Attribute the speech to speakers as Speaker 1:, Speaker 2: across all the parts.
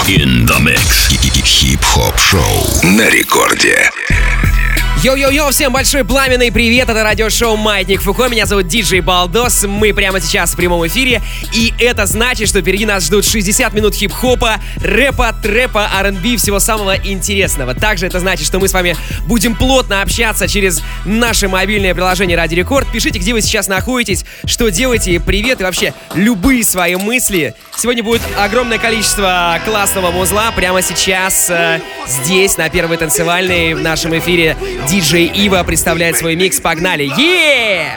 Speaker 1: In the mix. Хип-хоп шоу на рекорде.
Speaker 2: Йоу-йоу-йоу, всем большой пламенный привет, это радиошоу «Маятник Фуко», меня зовут Диджей Балдос, мы прямо сейчас в прямом эфире, и это значит, что впереди нас ждут 60 минут хип-хопа, рэпа, трэпа, R&B, всего самого интересного. Также это значит, что мы с вами будем плотно общаться через наше мобильное приложение «Радио Рекорд». Пишите, где вы сейчас находитесь, что делаете, привет и вообще любые свои мысли. Сегодня будет огромное количество классного музла, прямо сейчас здесь, на Первой танцевальной, в нашем эфире диджей Ива представляет свой микс. Погнали! Yeah!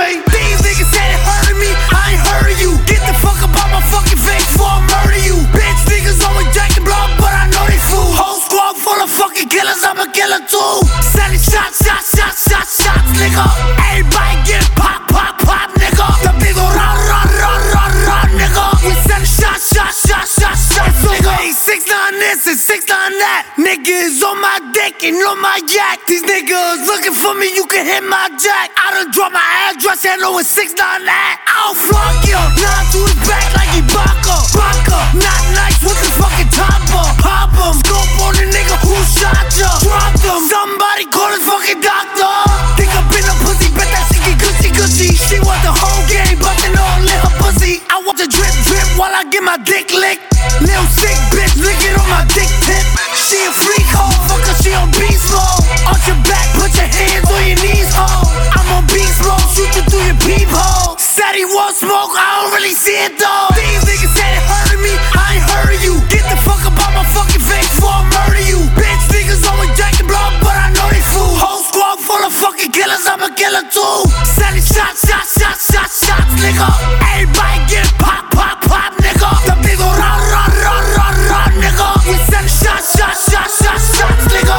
Speaker 3: Niggas on my dick and on my yak. These niggas looking for me, you can hit my jack. I done dropped my address, and know it's 699. I'll flunk you, knock to his back like Ibaka. Not nice with the fucking topper. Pop him, scope on the nigga who shot ya. Drop them, somebody call his fucking doctor. Think I've been a pussy, bet that shit get gushy. She want the whole game, bustin' all in her pussy. I want the drip while I get my dick licked. Little sick bitch, lick it on my dick tip. She a freak hoe, fucker, she on beast mode. Arch your back, put your hands on your knees, ho. I'm on beast mode, shoot you through your peephole. Said he want smoke, I don't really see it though. These niggas said it hurted me, I ain't heard you. Get the fuck up out my fucking face before I murder you. Bitch niggas always jacking blood, but I know they fool. Whole squad full of fucking killers, I'm a killer too. Said he shots, nigga. Everybody get pop, nigga. The big ol' run, nigga. We send shots, nigga.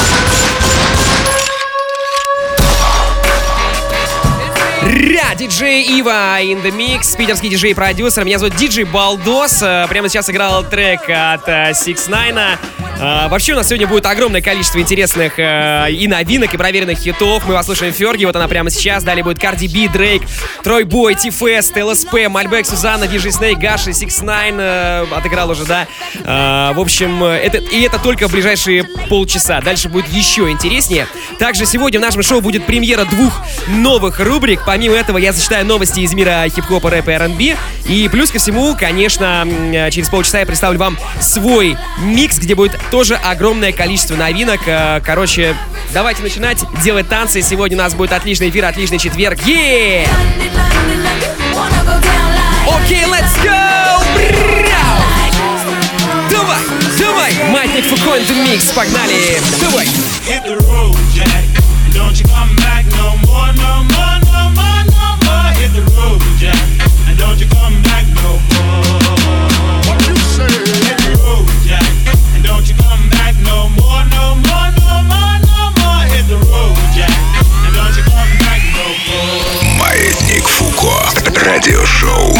Speaker 2: Диджей Ива in the mix, питерский диджей-продюсер. Меня зовут Диджей Балдос. Прямо сейчас играл трек от 6ix9ine. Вообще у нас сегодня будет огромное количество интересных и новинок, и проверенных хитов. Мы послушаем Ферги, вот она прямо сейчас. Далее будет Cardi B, Дрейк, Трой Бой, Ти-Фест, ЛСП, Мальбек, Сузанна, Диджей Снейк, Гаши, 6ix9ine отыграл уже, да. В общем, это только в ближайшие полчаса. Дальше будет еще интереснее. Также сегодня в нашем шоу будет премьера 2 новых рубрик. Помимо этого я зачитаю новости из мира хип-хопа, рэпа и R&B. И плюс ко всему, конечно, через полчаса я представлю вам свой микс, где будет тоже огромное количество новинок. Короче, давайте начинать делать танцы. Сегодня у нас будет отличный эфир, отличный четверг. Yeah! Окей, let's go! Давай! Маятник Фуко in the mix, погнали! Давай!
Speaker 4: Hit the road, Jack. Don't you come back no more. Hit the road, Jack. And don't you come back no more. What you say? Hit the road, Jack. And don't you come back no more. Hit the road, Jack. And don't you come back no more.
Speaker 1: Маятник Фуко. Радиошоу.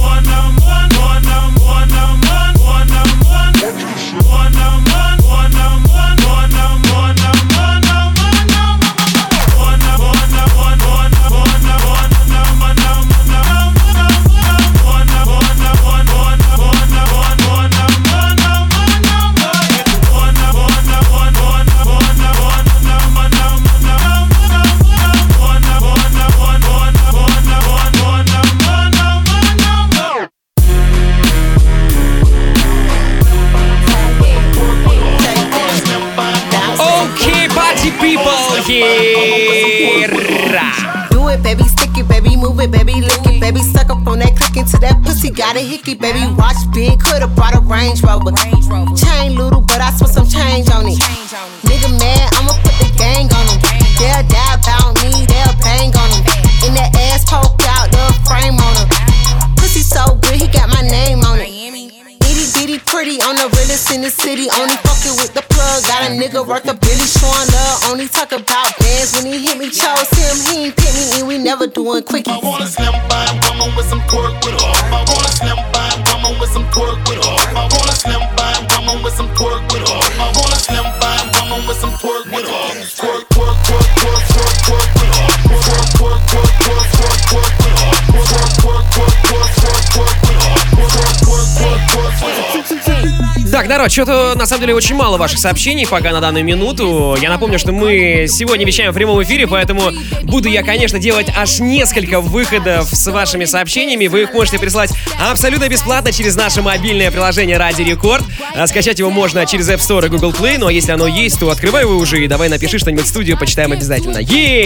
Speaker 5: Do it, baby, stick it, baby, move it, baby, lick it, baby, suck up on that click into that pussy, got a hickey, baby, watch big, could've brought a Range Rover. Chain little, but I spent some change on it. Nigga mad, I'ma put the gang on him. They'll die about me, they'll bang on him. In that ass poke out, the frame on him. Pussy so good, he got my name on it. Itty bitty pretty, on the realest in the city. Only fucking with the plug, got a nigga worth a billy, showing love. Only talk about bands when he hit me, chose him, he ain't pick me, and we never doing quickies.
Speaker 6: I wanna slim by woman with some twerk with her. I wanna slim by woman with some twerk with her. I wanna slim by woman with some twerk with her. I wanna slim by woman with some twerk with her. Twerk, twerk, twerk, twerk, twerk, twerk with her. Twerk, twerk, twerk, twerk, twerk, twerk with her. Twerk, twerk, twerk, twerk, twerk, twerk with her. Twerk, twerk, twerk, twerk, twerk with her.
Speaker 2: Так, народ, что-то на самом деле очень мало ваших сообщений пока на данную минуту. Я напомню, что мы сегодня вещаем в прямом эфире, поэтому буду я, конечно, делать аж несколько выходов с вашими сообщениями. Вы их можете прислать абсолютно бесплатно через наше мобильное приложение Радио Рекорд. Скачать его можно через App Store и Google Play, ну а если оно есть, то открывай его уже и давай напиши что-нибудь в студию, почитаем обязательно.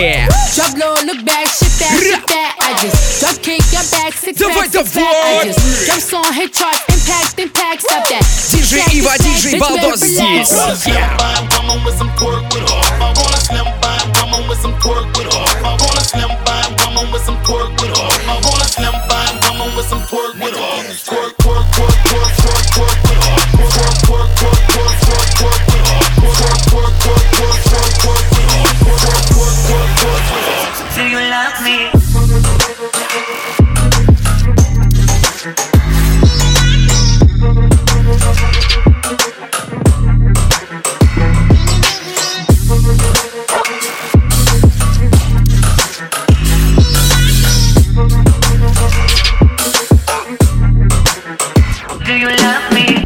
Speaker 2: Диджей Ива, диджей Балдос здесь.
Speaker 7: Do you love me? Do you love me?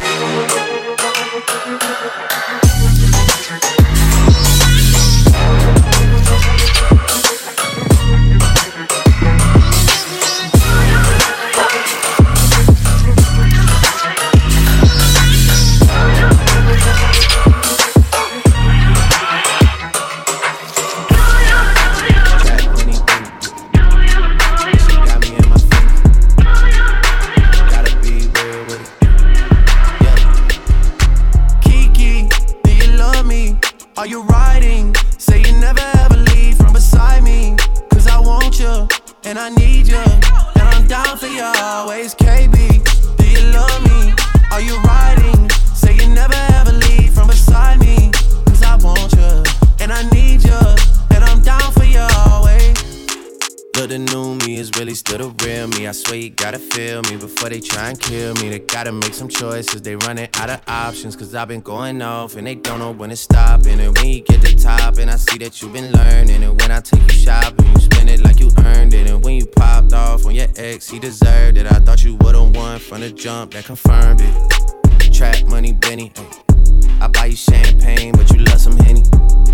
Speaker 8: Are you riding? Say you never ever leave from beside me. Cause I want you, and I need you, and I'm down for you always, KB. Do you love me? Are you riding? Say you never ever leave from beside me. Cause I want you, and I need you, and I'm down for you always. Look, the new me is really still the real me. I swear you gotta feel me before they try and kill me. They gotta make some choices, they running out of options. Cause I've been going off and they don't know when it's stopping. And when you get to top and I see that you've been learning. And when I take you shopping, you spend it like you earned it. And when you popped off on your ex, he deserved it. I thought you would've won from the jump, that confirmed it. Trap money, Benny, ay. I buy you champagne, but you love some Henny.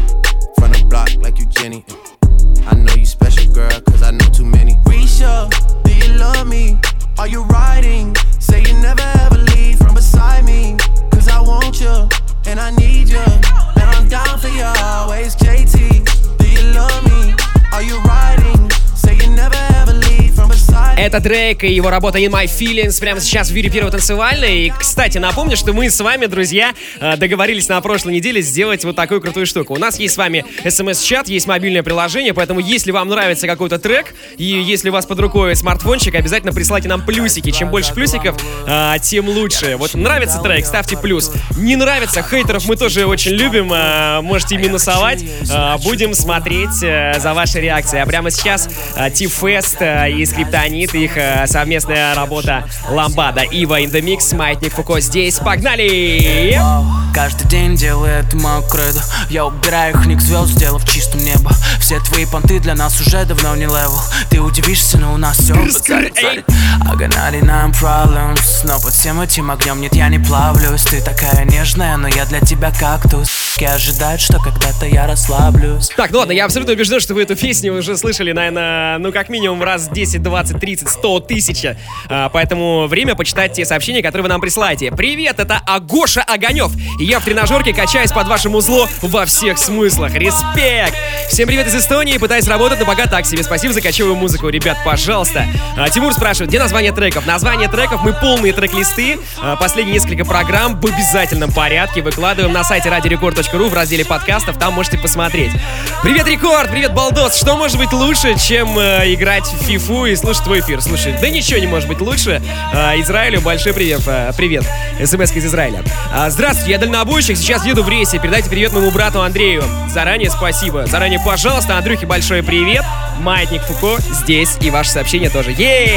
Speaker 8: From the block like you Jenny, ay. I know you special, girl, cause I know too many. Risha, do you love me? Are you riding? Say you never ever leave from beside me. Cause I want you, and I need you, and I'm down for you always. JT, do you love me? Are you riding? Say you never ever leave from beside me.
Speaker 2: Это Дрейк и его работа In My Feelings прямо сейчас в эфире Первого танцевальной. И, кстати, напомню, что мы с вами, друзья, договорились на прошлой неделе сделать вот такую крутую штуку. У нас есть с вами смс-чат, есть мобильное приложение, поэтому если вам нравится какой-то трек, и если у вас под рукой смартфончик, обязательно присылайте нам плюсики. Чем больше плюсиков, тем лучше. Вот нравится трек, ставьте плюс. Не нравится, хейтеров мы тоже очень любим, можете минусовать. Будем смотреть за вашей реакцией. А прямо сейчас Ти-Фест и Скриптонит, их совместная работа Ламбада. Ива in the Mix, Маятник Фуко здесь. Погнали!
Speaker 9: Каждый день делаю это мою кредо. Я убираю их ник звезд, сделав чистым небо. Все твои понты для нас уже давно не левел. Ты удивишься, но у нас все царит. I got 99 problems, но под всем этим огнем нет, я не плавлюсь. Ты такая нежная, но я для тебя кактус. И ожидают, что когда-то я расслаблюсь.
Speaker 2: Так, ну ладно, я абсолютно убежден, что вы эту песню уже слышали, наверное, ну как минимум раз 10, 20, 30, 100 тысяч. Поэтому время почитать те сообщения, которые вы нам присылаете. Привет, это Агоша Огонев. И я в тренажерке качаюсь под ваше музло во всех смыслах. Респект! Всем привет из Эстонии, пытаюсь работать, но пока так себе. Спасибо за кочевую музыку, ребят, пожалуйста. Тимур спрашивает, где название треков? Название треков, мы полные трек-листы. Последние несколько программ в обязательном порядке выкладываем на сайте radiorecord.ru в разделе подкастов, там можете посмотреть. Привет, Рекорд! Привет, Балдос! Что может быть лучше, чем играть в фифу и слушать твой эфир? Слушай, да ничего не может быть лучше. Израилю большой привет. Привет. СМС из Израиля. Здравствуйте, я дальнобойщик, сейчас еду в рейсе. Передайте привет моему брату Андрею. Заранее спасибо. Заранее, пожалуйста, Андрюхе большой привет. Маятник Фуко здесь, и ваше сообщение тоже.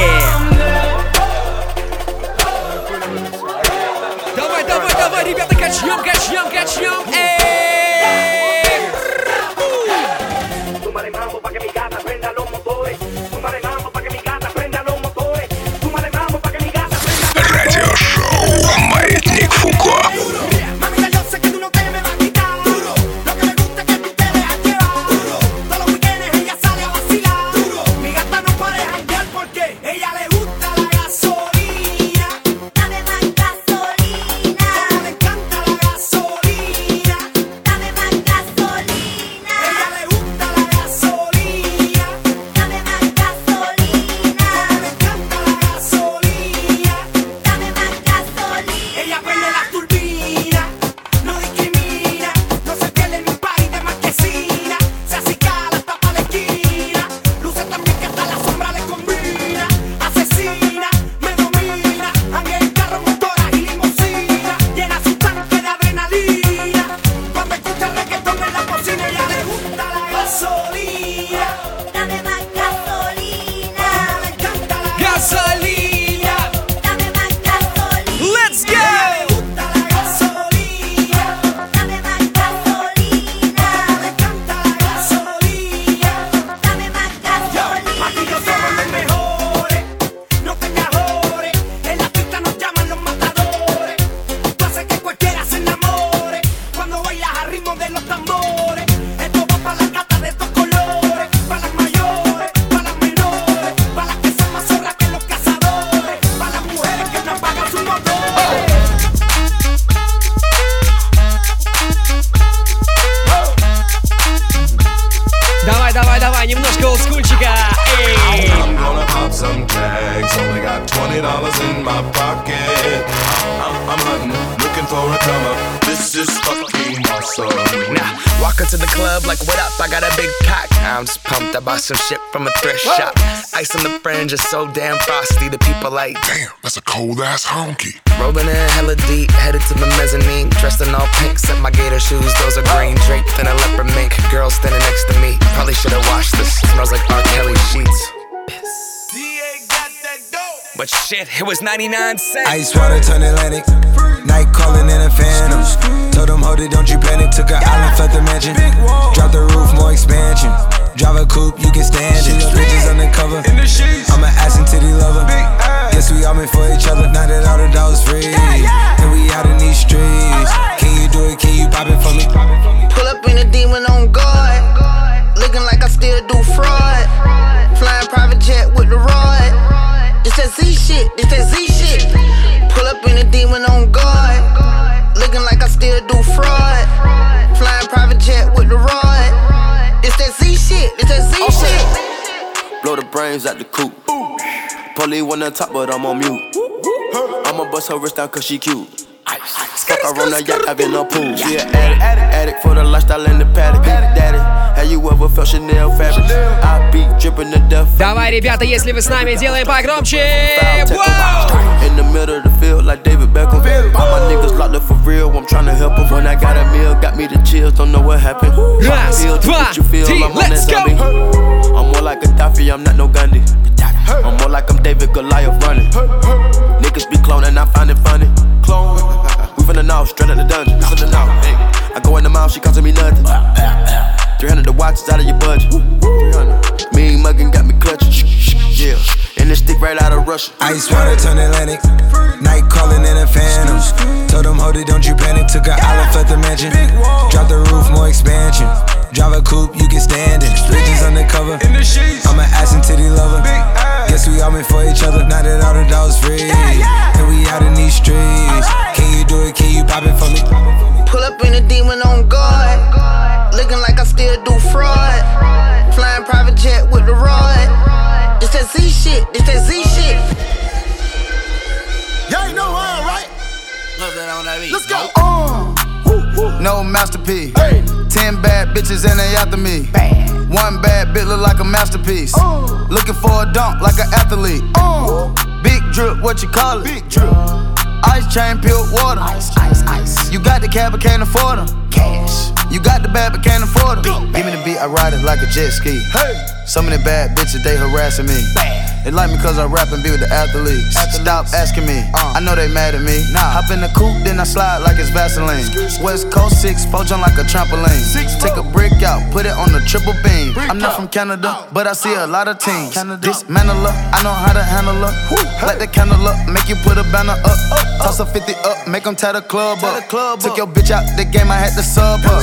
Speaker 2: Давай, ребята, качнем.
Speaker 1: Радиошоу «Маятник Фуко».
Speaker 8: for a come up. This is fucking awesome.
Speaker 10: Now, walk into the club like, what up? I got a big cock. I'm just pumped. I bought some shit from a thrift shop. Ice on the fringe is so damn frosty. The people like,
Speaker 1: damn, that's a cold ass honky.
Speaker 10: Rolling in hella deep, headed to the mezzanine. Dressed in all pink, set my gator shoes. Those are green, draped in a leopard mink. Girl standing next to me. Probably should've washed this. Smells like R. Kelly sheets. But shit, it was 99 cents.
Speaker 11: Ice water turn Atlantic. Night calling in a phantom. Told them, hold it, don't you panic. Took an island, left the mansion. Drop the roof, more expansion. Drive a coupe, you can stand it. Bitches undercover. I'm an ass and titty lover. Guess we all meant for each other. Now that all the dogs free, and we out in these streets. Can you do it? Can you pop it for me?
Speaker 12: Pull up in a demon on guard. Looking like I still do fraud. Flying private jet with the rod. It's that Z shit, it's that Z shit. Pull up in a demon on guard. Looking like I still do fraud. Flying private jet with the rod. It's that Z shit, it's that Z shit.
Speaker 8: Blow the brains out the coop. Polly one on top, but I'm on mute. I'ma bust her wrist down cause she cute. Fuck her on the yacht, I've been a pool. She an addict for the lifestyle in the paddock. Daddy, have you ever felt Chanel fabric? I be dripping to death.
Speaker 2: Давай, ребята, если вы с нами, делаем погромче.
Speaker 8: In the middle of the field like David Beckham. All my niggas locked up for real, I'm tryna help them. When I got a meal, got me the chills, don't know what happened.
Speaker 2: Раз, два, три, let's go!
Speaker 8: I'm more like Gaddafi, I'm not no Gandhi. I'm more like I'm David Goliath running. Niggas be cloning, I find it funny. Clone, we finna know, straight out the dungeon. Listen to now, hey. I go in the mouth, she costing me nothing. 300 the watch is out of your budget. 300. Mean muggin' got me clutching. Yeah, and this stick right out of Russia.
Speaker 11: Ice water turn Atlantic. Night calling in a phantom. Told them, hold it, don't you panic. Took an island, left the mansion. Drop the roof, more expansion. Drive a coupe, you can stand it. Bitches undercover. I'm an ass and titty lover. Guess we all meant for each other. Now that all the dogs free, and we out in these streets. Can you do it? Can you pop it for me?
Speaker 12: Pull up in a demon on guard. Looking like I still do fraud. Flying private jet with the rod. It's that Z shit, it's that Z shit.
Speaker 3: Y'all ain't know why, right? Let's go.
Speaker 13: No masterpiece. 10 bad bitches and they after me. One bad bitch look like a masterpiece. Looking for a dunk like an athlete. Big drip, what you call it? Big drip. Ice chain, pure water. Ice, ice, ice. You got the cab, but can't afford them. Cash. You got the bad, but can't afford them. Give me the beat, I ride it like a jet ski. Hey. Some of the bad bitches, they harassing me. They like me cause I rap and be with the athletes. Stop asking me, I know they mad at me. Hop in the coupe, then I slide like it's Vaseline. West Coast 6, four jump like a trampoline. Take a brick out, put it on the triple beam. I'm not from Canada, but I see a lot of teams. Dismantle her, I know how to handle her. Light the candle up, make you put a banner up. Toss a 50 up, make them tie the club up. Took your bitch out the game, I had to sub her.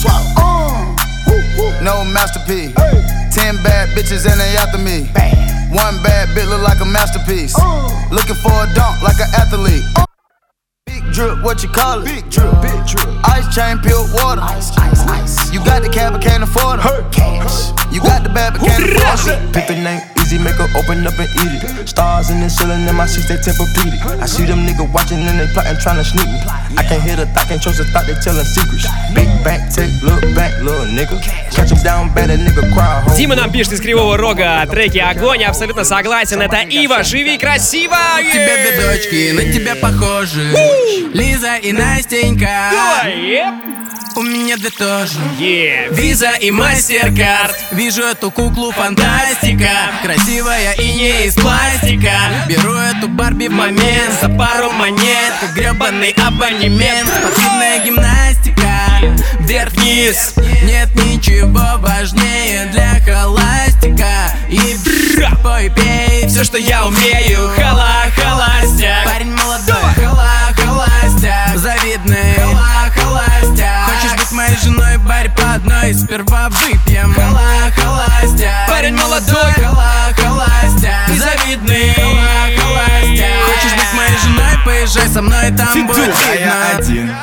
Speaker 13: No masterpiece. 10 bad bitches and they after me. One bad bitch look like a masterpiece. Looking for a dunk like an athlete. Big drip, what you call it? Big drip, big drip. Ice chain, pure water. Ice, ice, ice. You got the cab, but can't afford them. Cash. You got the bad, but can't afford it.
Speaker 8: Pick the name easy, make her open up and eat it. Stars in the ceiling in my seats, they Tempur-Pedic. I see them niggas watching and they plotting, trying to sneak me. I can't hear the thought, can't trust the thought, they telling secrets. Big back, take, look back, little nigga. Catch him down bad, that nigga cry.
Speaker 2: Дима нам пишет из Кривого Рога треки огонь, абсолютно согласен. Это Ива, живи красиво!
Speaker 9: Тебе две дочки, на тебя похожи. Лиза и Настенька. У меня две тоже. Виза и Мастеркард. Вижу эту куклу фантастика. Красивая и не из пластика. Беру эту Барби в момент. За пару монет, как гребаный абонемент. Спортивная гимнастика. Вверх-вниз. Нет ничего важнее для холастика. И пой, пей, все, что я умею. Холостяк. Парень молодой, холостяк. Завидный, холостяк. Хочешь быть моей женой, барь по одной. Сперва выпьем, холостяк. Парень молодой, холостяк. Завидный, холостяк. Хочешь быть моей женой, поезжай со мной, там будет видно.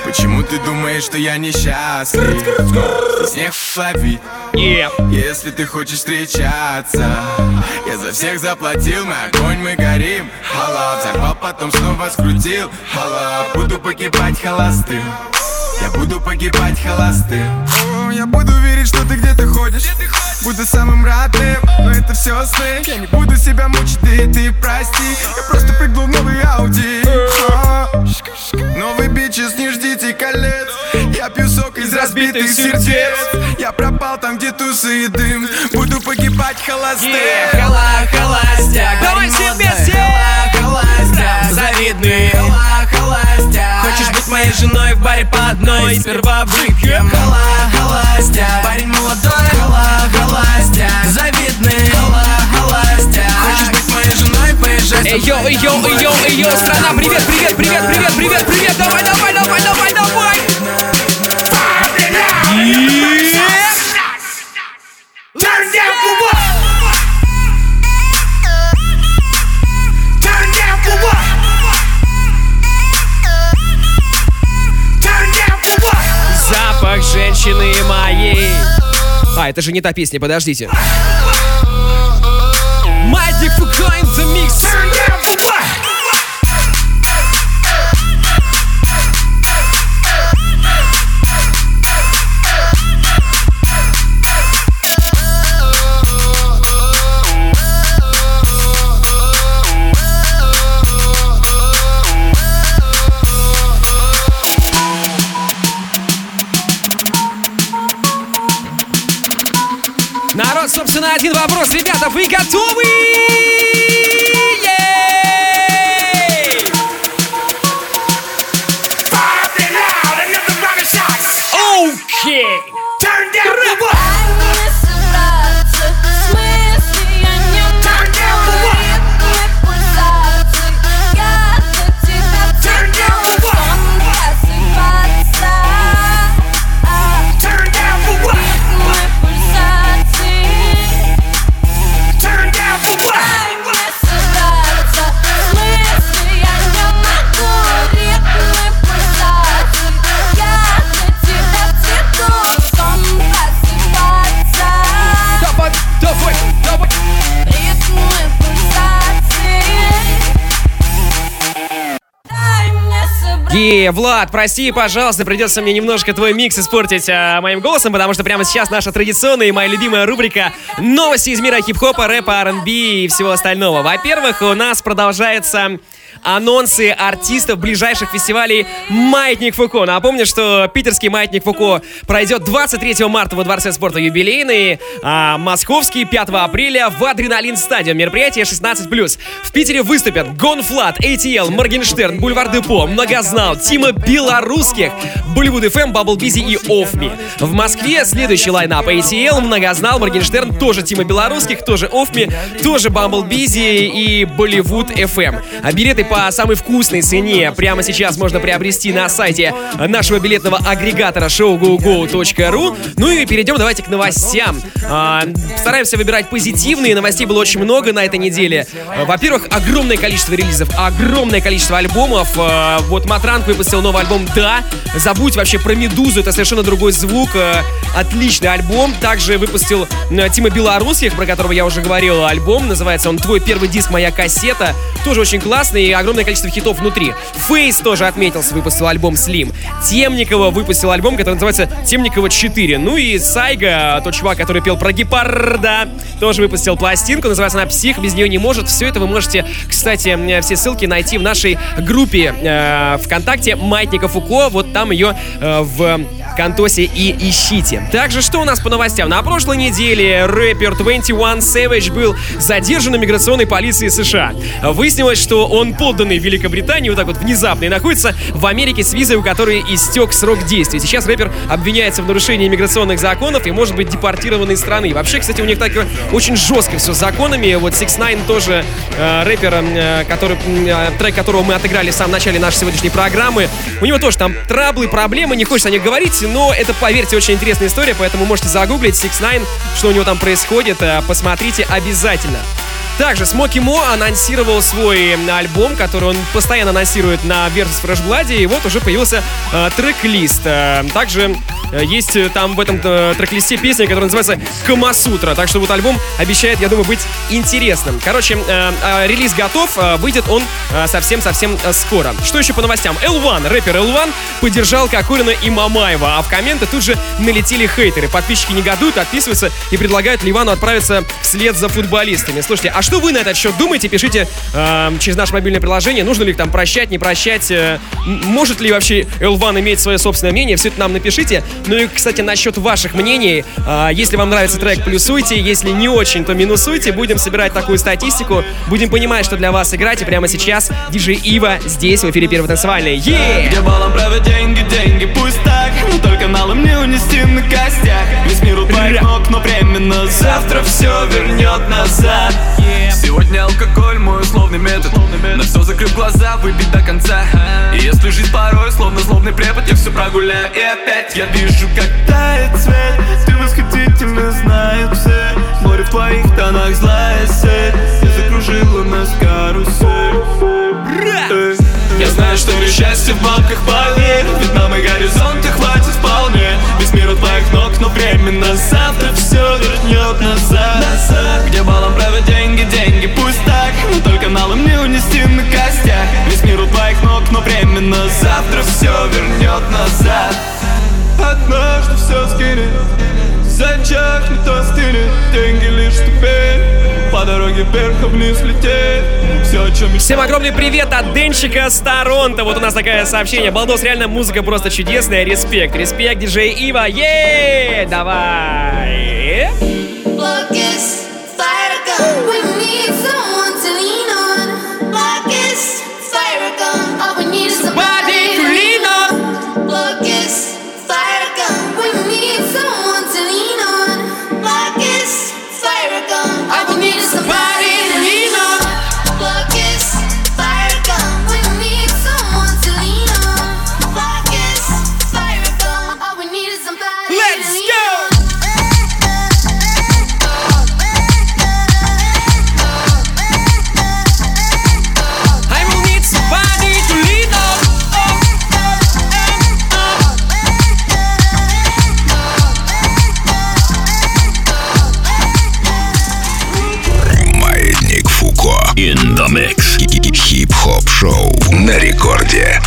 Speaker 11: Почему ты думаешь, что я несчастлив? Здесь не ловить. Если ты хочешь встречаться, я за всех заплатил, мы огонь, мы горим. Хала, взорвал, потом снова скрутил. Хала, буду погибать холостым. Я буду погибать холостым. О, я буду верить, что ты где-то ходишь. Буду самым родным, но это все сны. Я не буду себя мучить, ты прости. Я просто прыгнул в новый Ауди. Новый бичес, не ждите колец. Я пью сок из разбитых сердец. Я пропал там, где тусы и дым. Буду погибать холостым.
Speaker 2: Холостяк. Давай все вместе.
Speaker 9: Холостяк, завидный. Холостяк. Хочешь быть моей женой в баре по одной? Сперва выпьем. Холостяк. Парень молодой. Холостяк, завидный. Холостяк. Хочешь быть моей женой? Поезжай.
Speaker 2: Эй, йоу, страна, привет, давай.
Speaker 3: Turn down for what? Turn down for what? Turn down for what?
Speaker 2: Запах женщины моей. А, это же не та песня, подождите. Маятник Фуко in the mix.
Speaker 3: Turn down for what?
Speaker 2: Народ, собственно, один вопрос. Ребята, вы готовы? Окей.
Speaker 3: Turn down for what?
Speaker 2: Влад, прости, пожалуйста, придется мне немножко твой микс испортить моим голосом, потому что прямо сейчас наша традиционная и моя любимая рубрика «Новости из мира хип-хопа, рэпа, R&B и всего остального». Во-первых, у нас продолжаются анонсы артистов ближайших фестивалей «Маятник Фуко». Напомню, что питерский «Маятник Фуко» пройдет 23 марта во Дворце спорта «Юбилейный», а московский 5 апреля в «Адреналин Стадиум». Мероприятие 16+. В Питере выступят Гонфлат, ATL, Моргенштерн, Бульвар Депо, Многознал, Тима Белорусских, Болливуд FM, Bumble Busy и Off Me. В Москве следующий лайнап: ATL, Многознал, Моргенштерн, тоже Тима Белорусских, тоже Off Me, тоже Bumble Busy и Болливуд FM. А билеты по самой вкусной цене прямо сейчас можно приобрести на сайте нашего билетного агрегатора showgogo.ru. Ну и перейдем давайте к новостям. Стараемся выбирать позитивные. Новостей было очень много на этой неделе. Во-первых, огромное количество релизов, огромное количество альбомов. Вот Матранг выпустил новый альбом «Да». Забудь вообще про Медузу, это совершенно другой звук. Отличный альбом. Также выпустил Тима Белорусских, про которого я уже говорил, альбом. Называется он «Твой первый диск, моя кассета». Тоже очень классный и огромное количество хитов внутри. Фейс тоже отметился, выпустил альбом «Слим». Темникова выпустил альбом, который называется «Темникова 4». Ну и Сайга, тот чувак, который пел про гепарда, тоже выпустил пластинку. Называется она «Псих», без нее не может. Все это вы можете, кстати, все ссылки найти в нашей группе ВКонтакте «Маятника Фуко». Вот там ее в Контосе и ищите. Также, что у нас по новостям? На прошлой неделе рэпер 21 Savage был задержан миграционной полицией США. Выяснилось, что он подданный Великобритании, вот так вот внезапно, и находится в Америке с визой, у которой истек срок действия. Сейчас рэпер обвиняется в нарушении миграционных законов и может быть депортирован из страны. Вообще, кстати, у них так очень жестко все с законами. Вот 6ix9ine тоже рэпер, трек которого мы отыграли в самом начале нашей сегодняшней программы. У него тоже там траблы, проблемы, не хочется о них говорить, но это, поверьте, очень интересная история, поэтому можете загуглить 6ix9ine, что у него там происходит, посмотрите обязательно. Также Смоки Мо анонсировал свой альбом, который он постоянно анонсирует на Versus Fresh Blood, и вот уже появился трек-лист. Также есть там в этом трек-листе песня, которая называется «Камасутра». Так что вот альбом обещает, я думаю, быть интересным. Короче, релиз готов, выйдет он совсем-совсем скоро. Что еще по новостям? L1, рэпер L1 поддержал Кокорина и Мамаева, а в комменты тут же налетели хейтеры. Подписчики негодуют, отписываются и предлагают Ливану отправиться вслед за футболистами. Слушайте, а что вы на этот счет думаете? Пишите через наше мобильное приложение. Нужно ли их там прощать, не прощать? Может ли вообще L1 иметь свое собственное мнение? Все это нам напишите. Ну и, кстати, насчет ваших мнений. Если вам нравится трек, плюсуйте. Если не очень, то минусуйте. Будем собирать такую статистику. Будем понимать, что для вас играть. И прямо сейчас диджей Ива здесь, в эфире Первой танцевальной.
Speaker 14: Где балом правят деньги, пусть так. Но только налом не унести на костях. Весь мир у твоих ног, но временно. Завтра все вернет назад. Сегодня алкоголь, мой условный метод. На все закрыв глаза, выпить до конца. И если жизнь порой, словно злобный препод, я все прогуляю и опять я вижу, как тает свет. Ты восхитительно, знают все. Море в твоих тонах, злая сеть. Ты закружила нас карусель. Я знаю, что лишь счастье в бабках, поверь. Ведь нам и горизонта хватит вполне. Весь мир у твоих ног, но временно. Завтра все вернет назад. Где балом правят деньги, пусть так. Но только налом не унести на костях. Весь мир у твоих ног, но временно. Завтра все вернет назад. Однажды все скинет, зачахнет, остынет. Деньги лишь ступень. По дороге вверх, а вниз лететь. Все, о чем...
Speaker 2: Всем огромный привет от Денчика с Торонто. Вот у нас такое сообщение. Балдос, реально музыка просто чудесная. Респект, диджей Ива. Еее, давай.
Speaker 1: In the mix. Хип-хоп шоу на рекорде.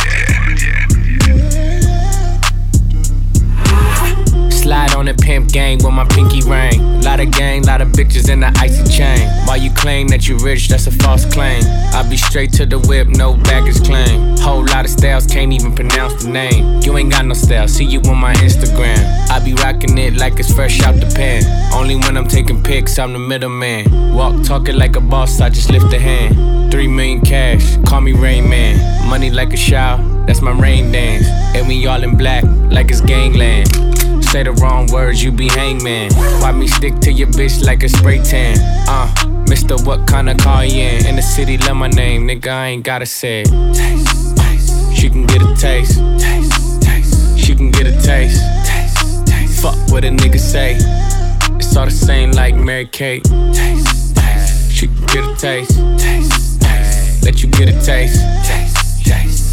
Speaker 15: Slide on the pimp gang with my pinky ring. Lot of gang, lot of bitches in the icy chain. While you claim that you rich, that's a false claim. I be straight to the whip, no baggage claim. Whole lot of styles, can't even pronounce the name. You ain't got no style, see you on my Instagram. I be rocking it like it's fresh out the pan. Only when I'm taking pics, I'm the middleman. Walk talking like a boss, I just lift a hand. 3 million cash, call me Rain Man. Money like a shower, that's my rain dance. And we all in black, like it's gangland. Say the wrong words, you be hangman. Why me stick to your bitch like a spray tan? Mister, what kind of car you in the city, love my name, nigga, I ain't gotta say it. Taste, taste. She can get a taste. Taste, taste. She can get a taste. Taste, taste. Fuck what a nigga say. It's all the same like Mary Kate. Taste, taste. She can get a taste. Taste, taste. Let you get a taste. Taste, taste.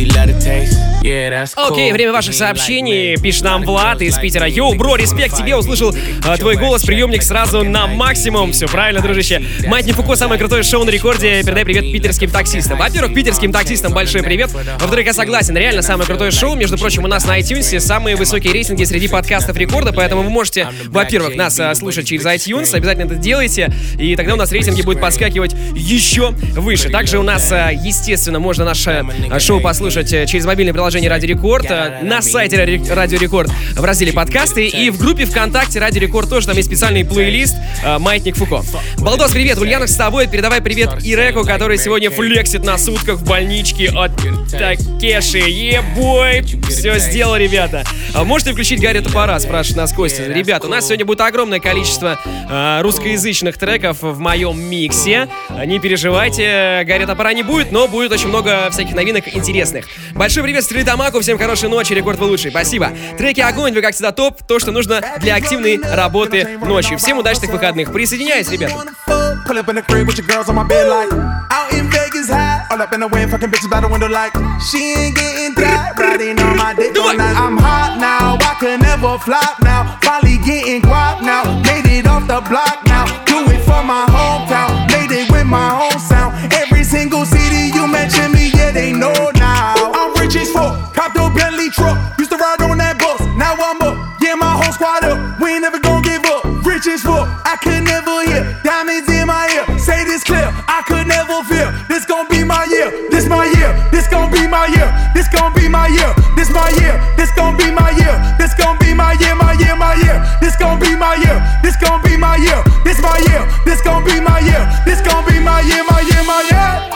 Speaker 2: Окей, время ваших сообщений. Пишет нам Влад из Питера. Йоу, бро, респект тебе, услышал твой голос, приемник сразу на максимум. Все правильно, дружище. Маятник Фуко, самое крутое шоу на рекорде. Передай привет питерским таксистам. Во-первых, питерским таксистам большой привет. Во-вторых, я согласен, реально самое крутое шоу. Между прочим, у нас на iTunes самые высокие рейтинги среди подкастов рекорда, поэтому вы можете, во-первых, нас слушать через iTunes, обязательно это делайте, и тогда у нас рейтинги будут подскакивать еще выше. Также у нас, естественно, можно наше шоу послушать через мобильное приложение Радио Рекорд, на сайте Радио Рекорд в разделе подкасты и в группе ВКонтакте Радио Рекорд тоже, там есть специальный плейлист «Маятник Фуко». Балдос, привет, Ульянов с тобой, передавай привет Иреку, который сегодня флексит на сутках в больничке от Такеши. Ебой, все сделал, ребята. Можете включить Гарри Топора, спрашивает нас Костя. Ребята, у нас сегодня будет огромное количество русскоязычных треков в моем миксе. Не переживайте, Гарри Топора не будет, но будет очень много всяких новинок интересных. Большой привет Стрелитамаку, всем хорошей ночи, Рекорд вы лучший, спасибо. Треки огонь, вы как всегда топ, то, что нужно для активной работы ночью. Всем удачных выходных, присоединяйтесь, ребята.
Speaker 16: Pull up in the crib with your girls on my bed like out in Vegas high. All up in the wind, fucking bitches by the window like she ain't getting tired. Riding on my dick all night. I'm hot now, I can never flop now. Finally getting guap now, made it off the block now. Do it for my hometown, made it with my own sound. Every single city you mention me, yeah, they know now. I'm rich as fuck, copped a Bentley truck. Used to ride on that bus, now I'm up. Yeah, my whole squad up, we ain't never gon' give up. Rich as fuck, I could never hear. Diamonds in my ear, say this clear, I could never fear. This gon' be my year, this my year. This gon' be my year, this gon' be my year. This my year, this gon' be my year. This gon' be my year, my year, my year. This gon' be my year, this gon' be my year. This my year, this gon' be my year. This gon' be my year, my year, my year.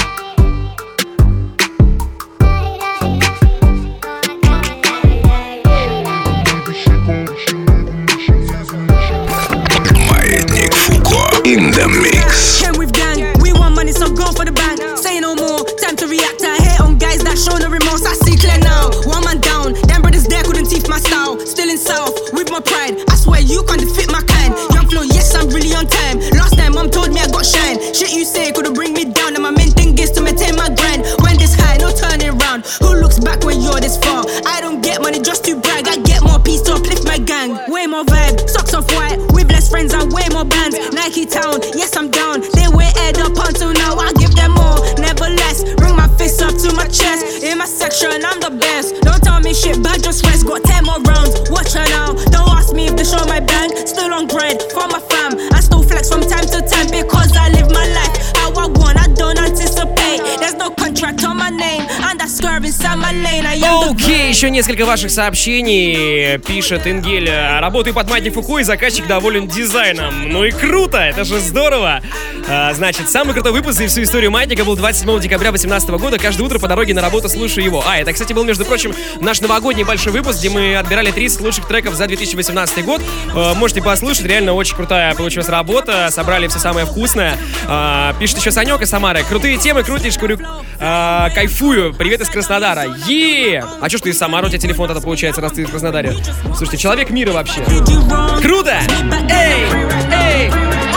Speaker 1: In the mix.
Speaker 17: Came with gang, we want money, so go for the bank. Say no more, time to react. I hate on guys that show no remorse. I see clear now, one man down. Them brothers there couldn't teeth my style. Still in south, with my pride. I swear you can't defeat my kind. Young flow, yes, I'm really on time. Last time, mom told me I got shine. Shit you say couldn't bring me down. And my main thing is to maintain my grind. When this high, no turning round. Who looks back when you're this far? I don't get money just to brag. I get more peace to uplift my gang. Way more vibe, socks off white. With less friends and way more bands. Nike Town, yes I'm down. They were head up until now. I give them more, never less. Bring my fist up to my chest. In my section, I'm the best. Don't tell me shit, but just rest. Got 10 more rounds. Watch her now. Don't ask me if they show my band. Still on grind for my fam. I still flex from time to time because I live my life how I want. I don't anticipate. There's no contract on my name. And I swerve inside my lane.
Speaker 2: Окей, еще несколько ваших сообщений. Пишет Ингель: работаю под Майки Фуку, и заказчик доволен дизайном. Ну и круто, это же здорово. Значит, самый крутой выпуск за всю историю Маятника был 27 декабря 2018 года. Каждое утро по дороге на работу слушаю его. Это, кстати, был, между прочим, наш новогодний большой выпуск, где мы отбирали 30 лучших треков за 2018 год. Можете послушать, реально очень крутая получилась работа. Собрали все самое вкусное. Пишет еще Санек из Самары: крутые темы, крутишь, курю, кайфую. Привет из Краснодара. А что ж ты из Самары? У тебя телефон тогда получается, раз ты из Краснодара. Слушайте, человек мира вообще. Круто! Эй!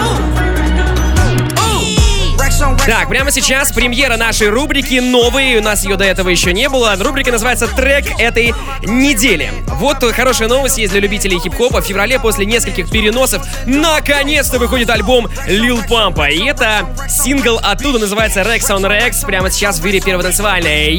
Speaker 2: Так, прямо сейчас премьера нашей рубрики новой. У нас ее до этого еще не было. Рубрика называется «Трек этой недели». Вот хорошая новость есть для любителей хип-хопа. В феврале после нескольких переносов наконец-то выходит альбом Lil Pump. И это сингл оттуда, называется Rex on Rex. Прямо сейчас в мире первой танцевальной.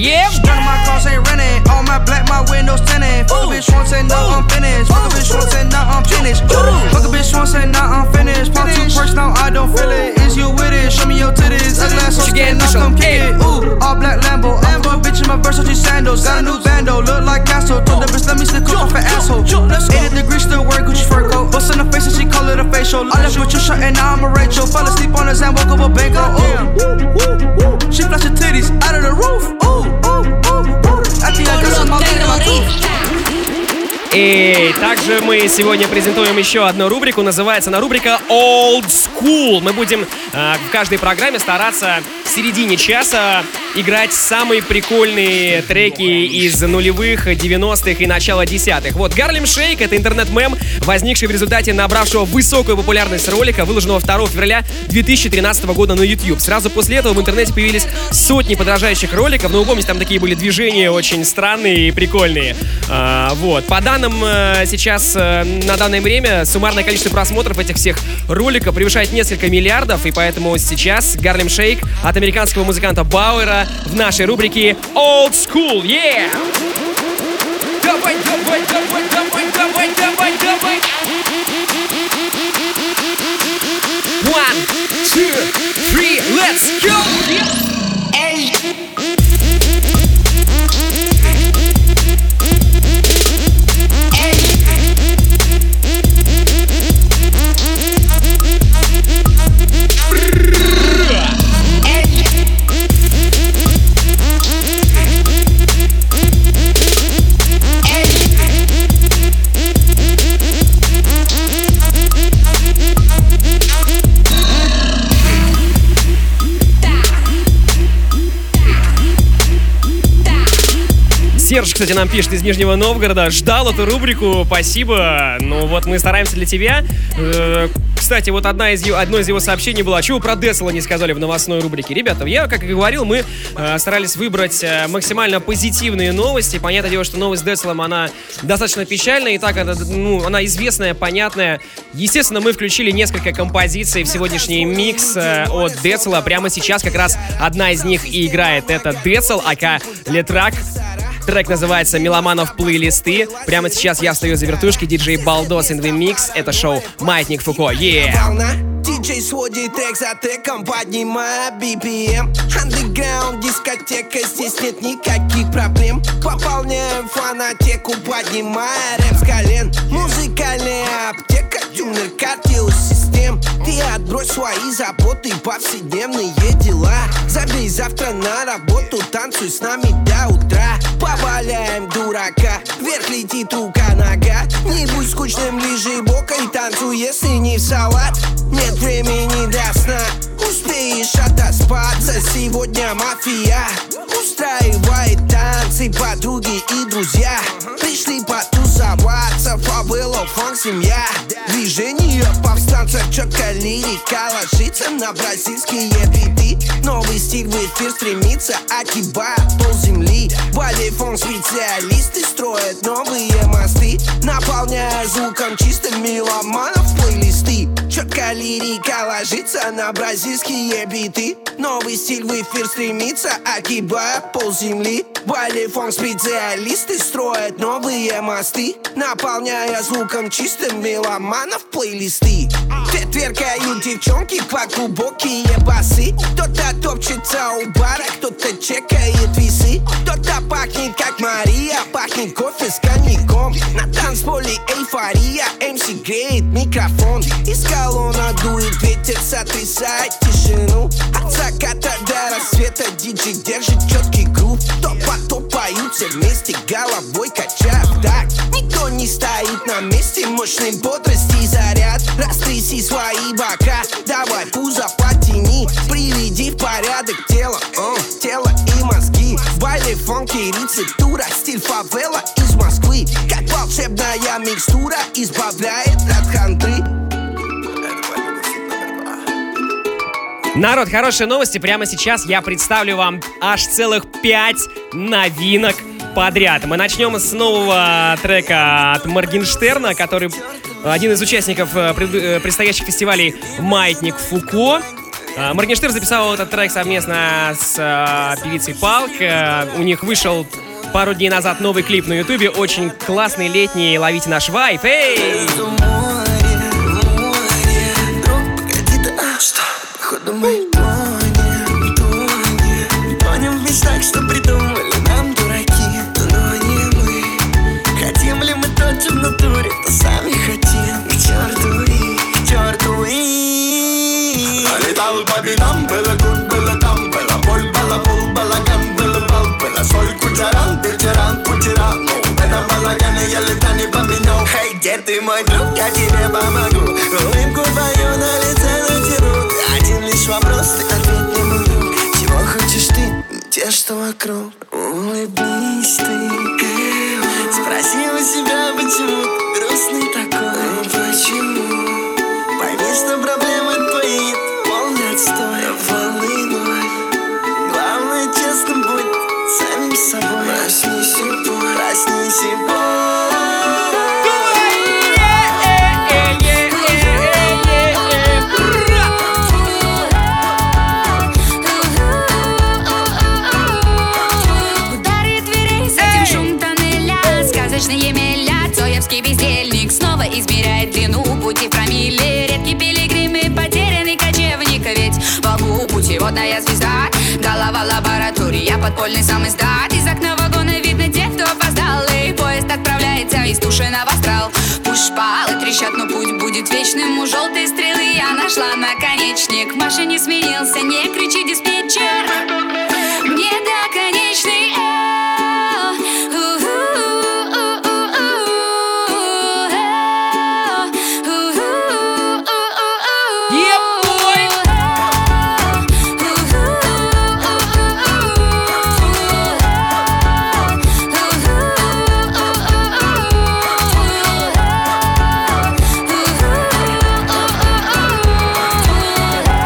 Speaker 18: Again, come get it. Ooh, all black Lambo. I put a bitch in my Versace sandals. Got a new bando, look like Castro. Told the bitch, let me stick off an asshole. 80 degrees, still wearing Gucci fur coat. Bust in the face and she call it a facial. I left with your shirt and now I'm a Rachel. Fell asleep on his hand, woke up a bank. Ooh, she flashed her titties out of the roof. I think I got some more in my tooth.
Speaker 2: И также мы сегодня презентуем еще одну рубрику. Называется она рубрика Old School. Мы будем в каждой программе стараться в середине часа играть самые прикольные треки из нулевых, 90-х и начала десятых. Вот Harlem Shake — это интернет-мем, возникший в результате набравшего высокую популярность ролика, выложенного 2 февраля 2013 года на YouTube. Сразу после этого в интернете появились сотни подражающих роликов. Но вы помните, там такие были движения очень странные и прикольные. Вот. По данным сейчас, на данное время, суммарное количество просмотров этих всех роликов превышает несколько миллиардов. И поэтому сейчас Harlem Shake от американского музыканта Бауэра в нашей рубрике Old School. Yeah! Давай! 1, 2, 3, let's go! Серж, кстати, нам пишет из Нижнего Новгорода. Ждал эту рубрику, спасибо. Ну вот мы стараемся для тебя. Кстати, вот одно из его сообщений было: а чего про Децела не сказали в новостной рубрике? Ребята, я, как и говорил, мы старались выбрать максимально позитивные новости. Понятное дело, что новость с Децелом, она достаточно печальная. И так, она известная, понятная. Естественно, мы включили несколько композиций в сегодняшний микс от Децела. Прямо сейчас как раз одна из них и играет. Это Децел, ака Летрак. Трек называется «Меломанов плейлисты». Прямо сейчас я встаю за вертушки. Диджей Балдос in the Mix. Это шоу «Маятник Фуко».
Speaker 19: Диджей сводит трек за треком, поднимая BPM. Underground дискотека, здесь нет никаких проблем. Пополняем фонотеку, поднимая рэп с колен. Музыкальная аптека, тюнер кардиосистем. Ты отбрось свои заботы, повседневные дела. Забей завтра на работу, танцуй с нами до утра. Поваляем дурака, вверх летит рука-нога. Не будь скучным, лежи боком, танцуй, если не в салат. Нет времени до сна, успеешь отоспаться. Сегодня мафия устраивает танцы, подруги и друзья пришли потусоваться. Фавело, фанк, семья, движение повстанцев. Четко лирика ложится на бразильские биты. Новый стиль в эфир стремится, огибая полземли. Балифон специалисты строят новые мосты, наполняя звуком чистым меломанов плейлисты. Четко лирика ложится на бразильские биты. Новый стиль в эфир стремится, огибая полземли. Балифон специалисты строят новые мосты, наполняя звуком чистым меломанов плейлисты. Те тверкают девчонки по глубокие басы. Кто-то топчется у бара, кто-то чекает весы. Кто-то пахнет как Мария, пахнет кофе с коньяком. На танцполе эйфория, МС греет микрофон. Из колонна дует ветер, сотрясает тишину. От заката до рассвета диджей держит четкий грув. Топ по топ поются вместе, головой качая так. Никто не стоит на месте, мощной бодрости заряд. Растряси свои бока, давай пузо потяни. Приведи в порядок тело и мозги. В байле фонки рецептура, стиль фавела из Москвы. Как волшебная микстура избавляет от хандры.
Speaker 2: Народ, хорошие новости. Прямо сейчас я представлю вам аж целых 5 новинок подряд. Мы начнем с нового трека от Моргенштерна, который один из участников предстоящих фестивалей «Маятник Фуко». Моргенштерн записал этот трек совместно с певицей Палк. У них вышел пару дней назад новый клип на ютубе. Очень классный, летний. Ловите наш вайб. Эй!
Speaker 19: Походу мы тонем в мечтах, что придумали нам дураки. Но не мы. Хотим ли мы то, что в натуре, то сами хотим. К черту и
Speaker 6: Летал по бедам, было тут, было там. Была боль, балабол, балаган, был бал. Была соль, кучеран, ветеран, кучеран. Ну, в этом балагане я лета не поменял. Хей, где ты, мой друг, я тебе помогу. Улыбку твою на лице натяну. Один лишь вопрос, ты ответь мне, мой друг. Чего хочешь ты, не те, что вокруг. Улыбнись ты. Спроси у себя, почему ты грустный такой. Почему? Пойми, что проблемы твои полный отстой. Волной. Главное, честно будь самим собой. Проснись и пой, проснись и пой.
Speaker 20: Цоевский бездельник снова измеряет длину пути промилле. Редкий пилигрим и потерянный кочевник. Ведь во лбу путеводная звезда. Голова лаборатория, подпольный сам издат. Из окна вагона видно тех, кто опоздал. И поезд отправляется из Тушино в астрал. Пусть шпалы трещат, но путь будет вечным. У желтой стрелы я нашла наконечник. В машине сменился, не кричи, диспетчер. Мне до конечный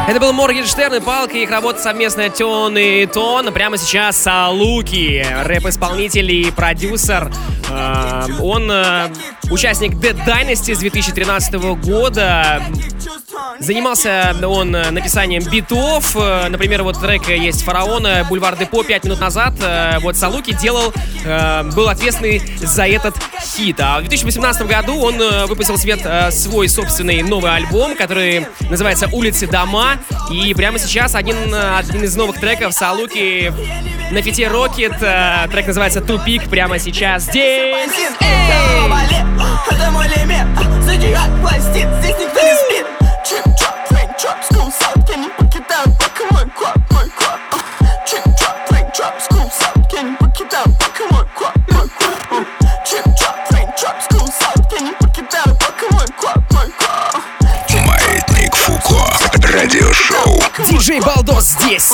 Speaker 2: Это был Моргенштерн и Палка, их работа совместная Тон и Тон. Прямо сейчас Салуки, рэп-исполнитель и продюсер. Он участник Dead Dynasty с 2013 года. Занимался он написанием битов. Например, вот трек есть «Фараона», «Бульвар Депо» 5 минут назад. Вот Салуки был ответственный за этот хит. А в 2018 году он выпустил в свет свой собственный новый альбом, который называется «Улицы, дома». И прямо сейчас один из новых треков Салуки на фите Rocket. Трек называется «Тупик». Прямо сейчас здесь.
Speaker 3: Это мой лимит. Зодиак пластит, здесь никто не спит. Чип-чоп, фейк-чоп, скул-сап. Я не покидаю пока мой квад. Чип-чоп, фейк-чоп, скул-сап. Я не покидаю пока мой квад. Чип-чоп, фейк-чоп, скул-сап. Я не покидаю пока мой квад.
Speaker 1: Маятник Фуко. Радиошоу.
Speaker 2: Диджей Балдос здесь.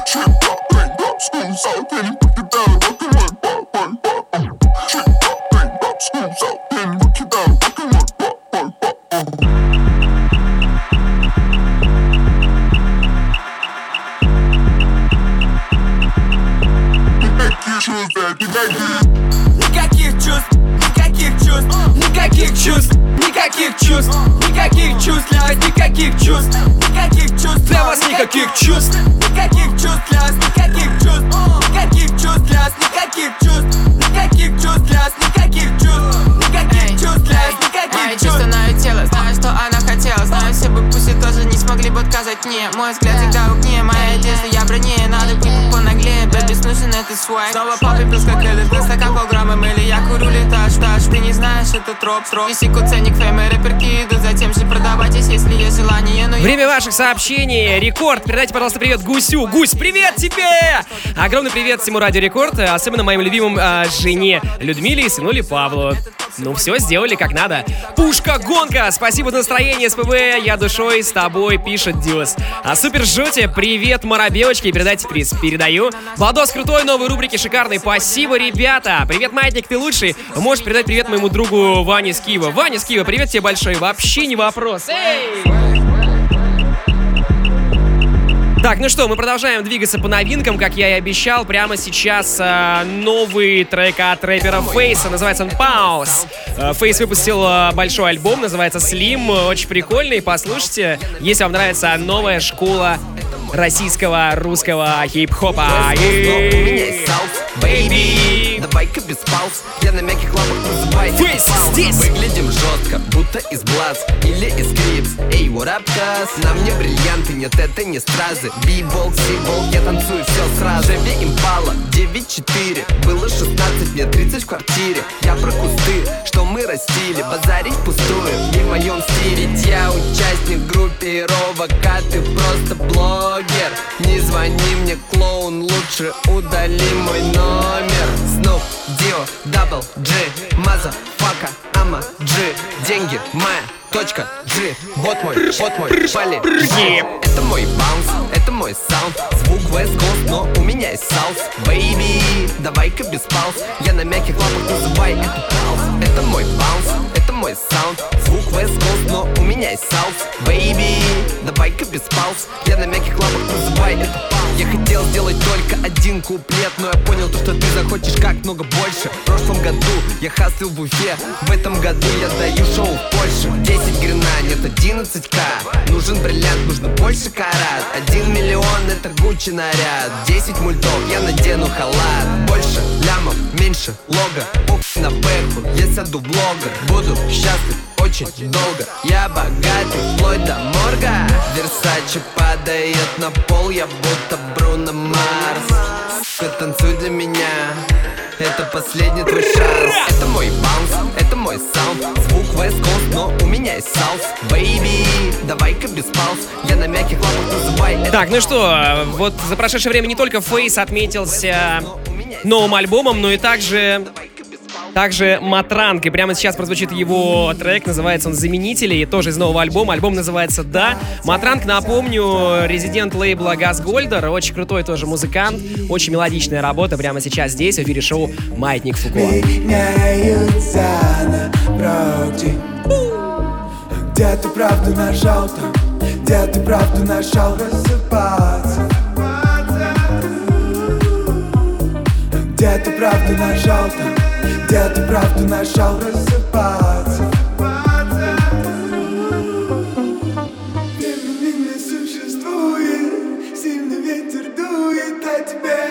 Speaker 3: Никаких чувств, никаких чувств, никаких чувств, никаких чувств, никаких чувств для вас, никаких чувств, никаких чувств для вас, никаких чувств, никаких чувств для вас, никаких чувств, никаких чувств для вас, никаких чувств, никаких чувств для вас, никаких чувств, никаких чувств для вас, никаких чувств.
Speaker 21: Знаю тело, знаю, что она хотела, знаю, все бы пусть тоже не смогли бы отказать мне. Мой взгляд всегда в огне, моя одежда, я бронее, надо быть понаглее, бэби, нужен этот свайп. Снова папа плюс как элит, стакан полграммом, или я курю летаж, ты не знаешь, это троп. Висику ценник, фэм и рэперки идут, затем же продавайтесь, если есть желание.
Speaker 2: Время ваших сообщений. Рекорд. Передайте, пожалуйста, привет Гусю. Гусь, привет тебе! Огромный привет всему Радио Рекорд, особенно моим любимым жене Людмиле и сынуле Павлу. Ну все, сделали как надо. Пушка-гонка. Спасибо за настроение, СПБ. Я душой с тобой, пишет Дюс. Супер Жоте, привет, Моробелочки. Передайте приз. Передаю. Балдос крутой, новые рубрики шикарные. Спасибо, ребята. Привет, Маятник, ты лучший. Можешь передать привет моему другу Ване с Киева. Ваня с Киева, привет тебе большой. Вообще не вопрос. Эй! Так, ну что, мы продолжаем двигаться по новинкам, как я и обещал. Прямо сейчас новый трек от рэпера Фейса, называется он «Пауз». Фейс выпустил большой альбом, называется «Слим», очень прикольный, послушайте, если вам нравится новая школа российского русского хип-хопа. Бэйби,
Speaker 22: давай-ка без пауз. Я на мягких лапах называй
Speaker 2: Фейс здесь.
Speaker 22: Выглядим жестко, будто из Блац или из Крипс. Эй, what up, cuz? На мне бриллианты, нет, это не стразы. Би-болк, си-болк, я танцую все сразу. Шеви Импала, 9-4. Было 16, мне 30 в квартире. Я про кусты, что мы растили. Базарить пустую, не в моем стиле. Ведь я участник группировок, а ты просто блогер. Не звони мне, клоун, лучше удали мой номер. Снуп, Дио, Дабл, Джи, Маза, Фака, Ама, Джи. Деньги, моя точка, G. Вот мой, пали, G. Это мой баунс, это мой саунд. Звук West Coast, но у меня есть саус. Бэйби, давай-ка без пауз. Я на мягких лапах, называй это пауз. Это мой баунс, это мой саунд. Звук West Coast, но у меня есть саус. Бэйби, давай-ка без пауз. Я на мягких лапах, называй это пауз. Я хотел сделать только один куплет, но я понял то, что ты захочешь как много больше. В прошлом году я хаслил в Уфе, в этом году я даю шоу в Польше. 10 грина, нет 11к. Нужен бриллиант, нужно больше карат. 1 миллион это Гуччи наряд. 10 мультов, я надену халат. Больше лямов, меньше лога. На бэху, я сяду в блогер. Буду счастлив очень долго. Я богатый, вплоть до морга. Версаче падает на пол, я будто Бруно Марс. Сука, танцуй для меня, это последний твой шанс. Это мой баунс, это мой саунд. Звук West Coast, но у меня есть саус. Бэйби, давай-ка без пауз. Я на мягких лапах, называй это.
Speaker 2: Так, ну что, вот за прошедшее время не только Фейс отметился новым альбомом, но и также Матранг. И прямо сейчас прозвучит его трек, называется он «Заменители», и тоже из нового альбома. Альбом называется «Да». Матранг, напомню, резидент лейбла Газгольдер, очень крутой тоже музыкант, очень мелодичная работа прямо сейчас здесь, в эфире шоу «Маятник Фуко».
Speaker 23: Где ты правду нажал там?
Speaker 11: где ты правду нашел рассыпаться? Где ты правду нашел там? Где ты правду нашел рассыпаться? Времени не существует, сильный ветер дует о тебе.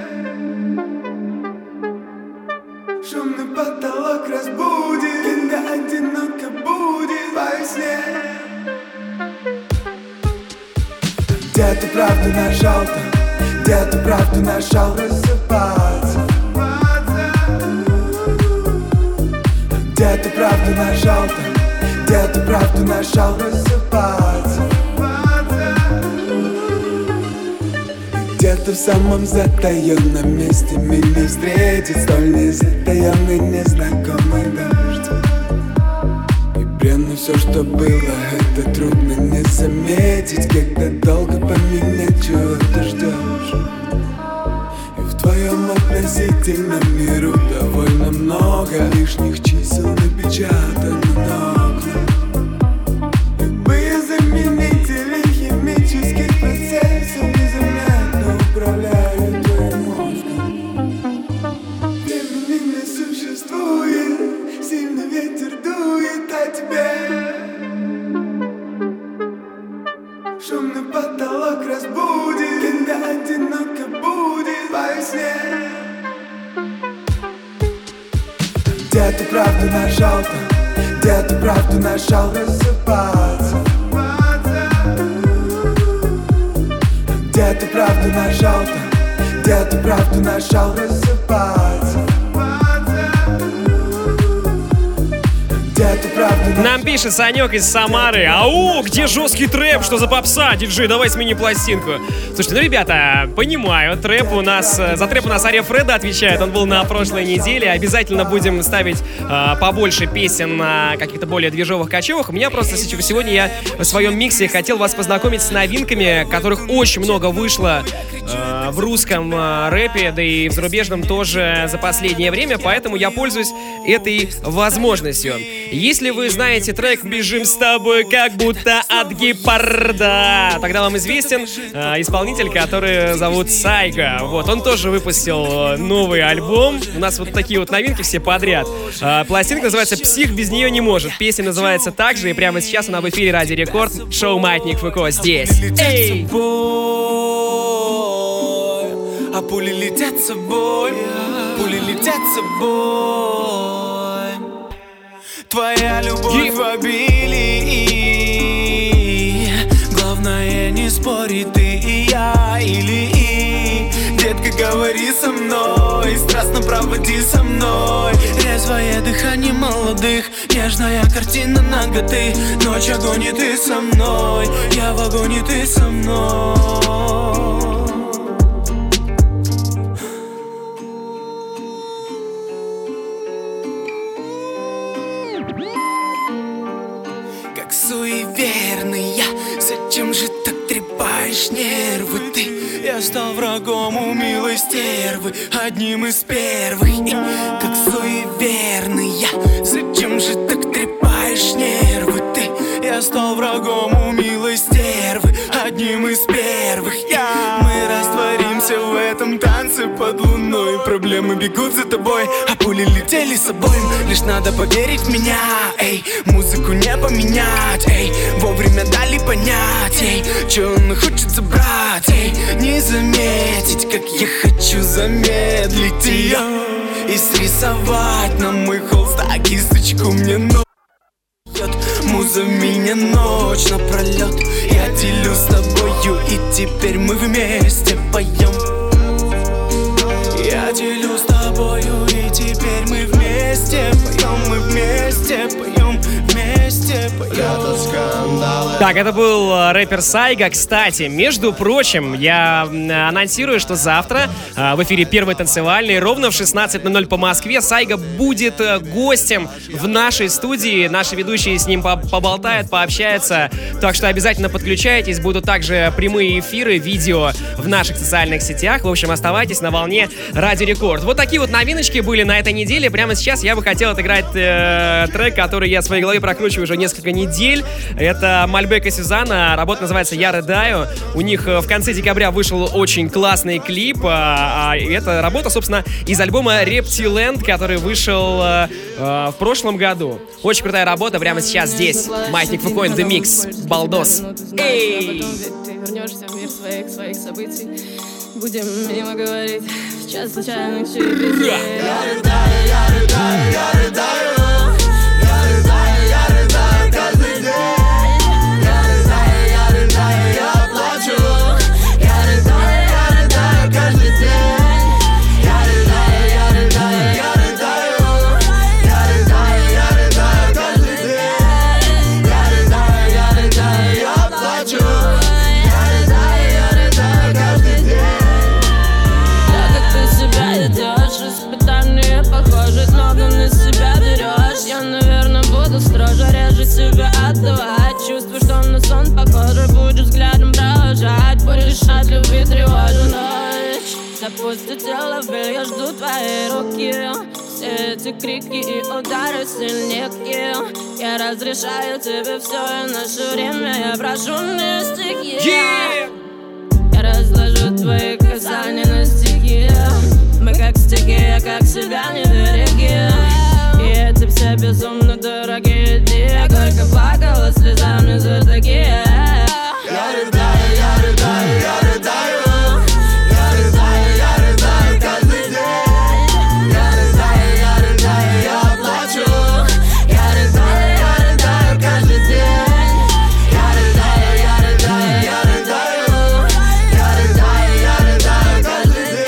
Speaker 11: Шумный потолок разбудит, когда одиноко будет во сне. Где ты правду нашел там? Где ты правду нашел рассыпаться? Где ты правду нашел там? Где ты правду нашел рассыпаться? Где-то в самом затаенном месте меня встретит столь незатаенный незнакомый дождь. И бренно все, что было, это трудно не заметить, когда долго поменять чего-то ждешь. И в твоем относительном миру довольно много лишних чисел напечатано на окнах. Любые заменители химических процессов незаметно управляют твоим мозгом. Времени не существует, сильный ветер дует о тебе. Шумный потолок разбудит, когда одиноко будет во сне. Где ты правду нашел там? Где ты правду нашел рассыпаться? Где ты правду нашел там? Где ты правду нашел рассыпаться?
Speaker 2: Нам пишет Санек из Самары. Ау, где жесткий трэп? Что за попса? Диджей, давай смени пластинку. Слушайте, ну, ребята, понимаю, трэп у нас, за трэп у нас Ария Фреда отвечает. Он был на прошлой неделе. Обязательно будем ставить побольше песен на каких-то более движовых кочевых. У меня просто сегодня я в своем миксе хотел вас познакомить с новинками, которых очень много вышло в русском рэпе, да и в зарубежном тоже за последнее время, поэтому я пользуюсь этой возможностью. Если вы знаете трек «Бежим с тобой, как будто от гепарда», тогда вам известен исполнитель, который зовут Сайга. Вот, он тоже выпустил новый альбом. У нас вот такие вот новинки все подряд. Пластинка называется «Псих без нее не может». Песня называется так же, и прямо сейчас она в эфире Радио Рекорд. Шоу «Маятник ФК» здесь. Эй!
Speaker 8: А пули летят с собой, пули летят с собой. Твоя любовь в обилии. Главное не спори, ты и я или и. Детка, говори со мной, страстно проводи со мной. Резвое дыхание молодых, нежная картина наготы. Ночь огонь и ты со мной, я в огонь и ты со мной. Суеверная, зачем же так трепаешь нервы ты? Я стал врагом у милой стервы, одним из первых. Как суеверная, зачем же так трепаешь нервы ты? Я стал врагом у милой стервы, одним из первых. Мы растворимся в этом танце под луной. Проблемы бегут за тобой, а пули летели с собой. Лишь надо поверить в меня, эй, музыку не поменять, эй, вовремя дали понять, эй, что он хочет забрать, эй, не заметить, как я хочу замедлить ее и срисовать на мой холстак кисточку мне ночь. Муза меня ночь напролет, я делю с тобою, и теперь мы вместе поем. Я делю с тобою, и теперь мы вместе поем, мы вместе поем, вместе поем.
Speaker 2: Так, это был рэпер Сайга. Кстати, между прочим, я анонсирую, что завтра в эфире «Первый танцевальный» ровно в 16:00 по Москве Сайга будет гостем в нашей студии. Наши ведущие с ним поболтают, пообщаются. Так что обязательно подключайтесь. Будут также прямые эфиры, видео в наших социальных сетях. В общем, оставайтесь на волне Радио Рекорд. Вот такие вот новиночки были на этой неделе. Прямо сейчас я бы хотел отыграть трек, который я в своей голове прокручиваю уже несколько недель. Это Мальборо Бека Сюзанна. Работа называется «Я рыдаю». У них в конце декабря вышел очень классный клип. И эта работа, собственно, из альбома «Reptiland», который вышел в прошлом году. Очень крутая работа прямо сейчас здесь. Маятник Фуко in the Mix. Балдос. Эй!
Speaker 4: Ты вернешься в мир своих событий. Будем мимо говорить. Сейчас случайных через я рыдаю, я рыдаю, я рыдаю. Я рыдаю, я рыдаю каждый день. Я рыдаю, я рыдаю, я плачу. Я рыдаю, я рыдаю каждый день. Я рыдаю, я рыдаю, я рыдаю. Я рыдаю, я рыдаю каждый день. Я рыдаю, я рыдаю, я плачу. Я рыдаю, я рыдаю каждый день. Испытания похожи, снова на себя берешь. Я, наверное, буду строже, реже себя отдавать. Чувствую, что на сон похоже, будешь взглядом провожать. Будешь от любви тревожу ночь. Запустила боль, я жду твоей руки. Все эти крики и удары сильнее. Я разрешаю тебе все, и наше время я прошу мне стихи. Я разложу твои касания на стихи. Мы как стихия, как себя не береги. И эти все безумно дорогие дни. Я горько плакала слезами за такие. Я рыдаю, я рыдаю, я рыдаю. Я рыдаю, я рыдаю каждый день. Я рыдаю, я рыдаю, я плачу. Я рыдаю, я рыдаю каждый день. Я рыдаю, я рыдаю, я рыдаю. Я рыдаю, я рыдаю каждый день.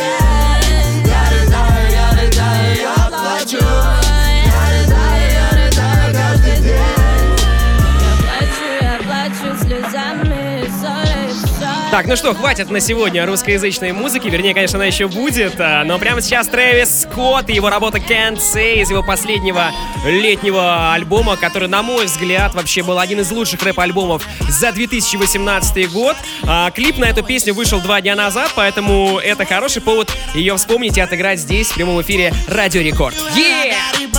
Speaker 2: Так, ну что, хватит на сегодня русскоязычной музыки. Вернее, конечно, она еще будет. Но прямо сейчас Трэвис Скотт и его работа Can't Say из его последнего летнего альбома, который, на мой взгляд, вообще был один из лучших рэп-альбомов за 2018 год. Клип на эту песню вышел 2 дня назад, поэтому это хороший повод ее вспомнить и отыграть здесь, в прямом эфире Радио Рекорд. Yeah!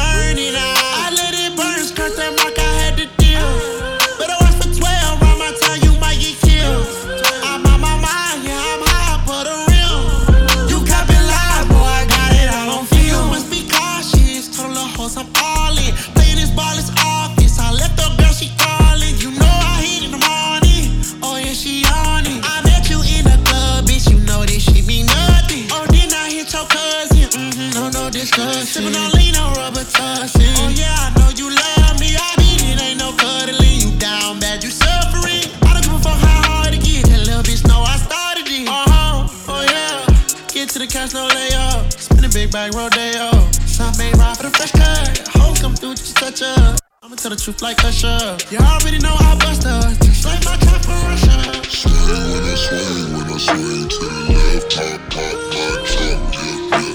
Speaker 6: Sippin' on lean, no rubber tussin'. Oh yeah, I know you love me. I mean it ain't no cuddling. You down bad, you suffering. I don't give a fuck how hard it get. That little bitch know I started it. Oh yeah. Get to the cash, no layup. Spin a big bag, rodeo. Some ain't ride for the fresh cut. Hoes come through, just touch up. I'ma tell the truth like Usher. You already know I bust up. Just like my trap for Russia. Swing when I swing, when I swing to the left. Pop, pop, pop, pop, yeah.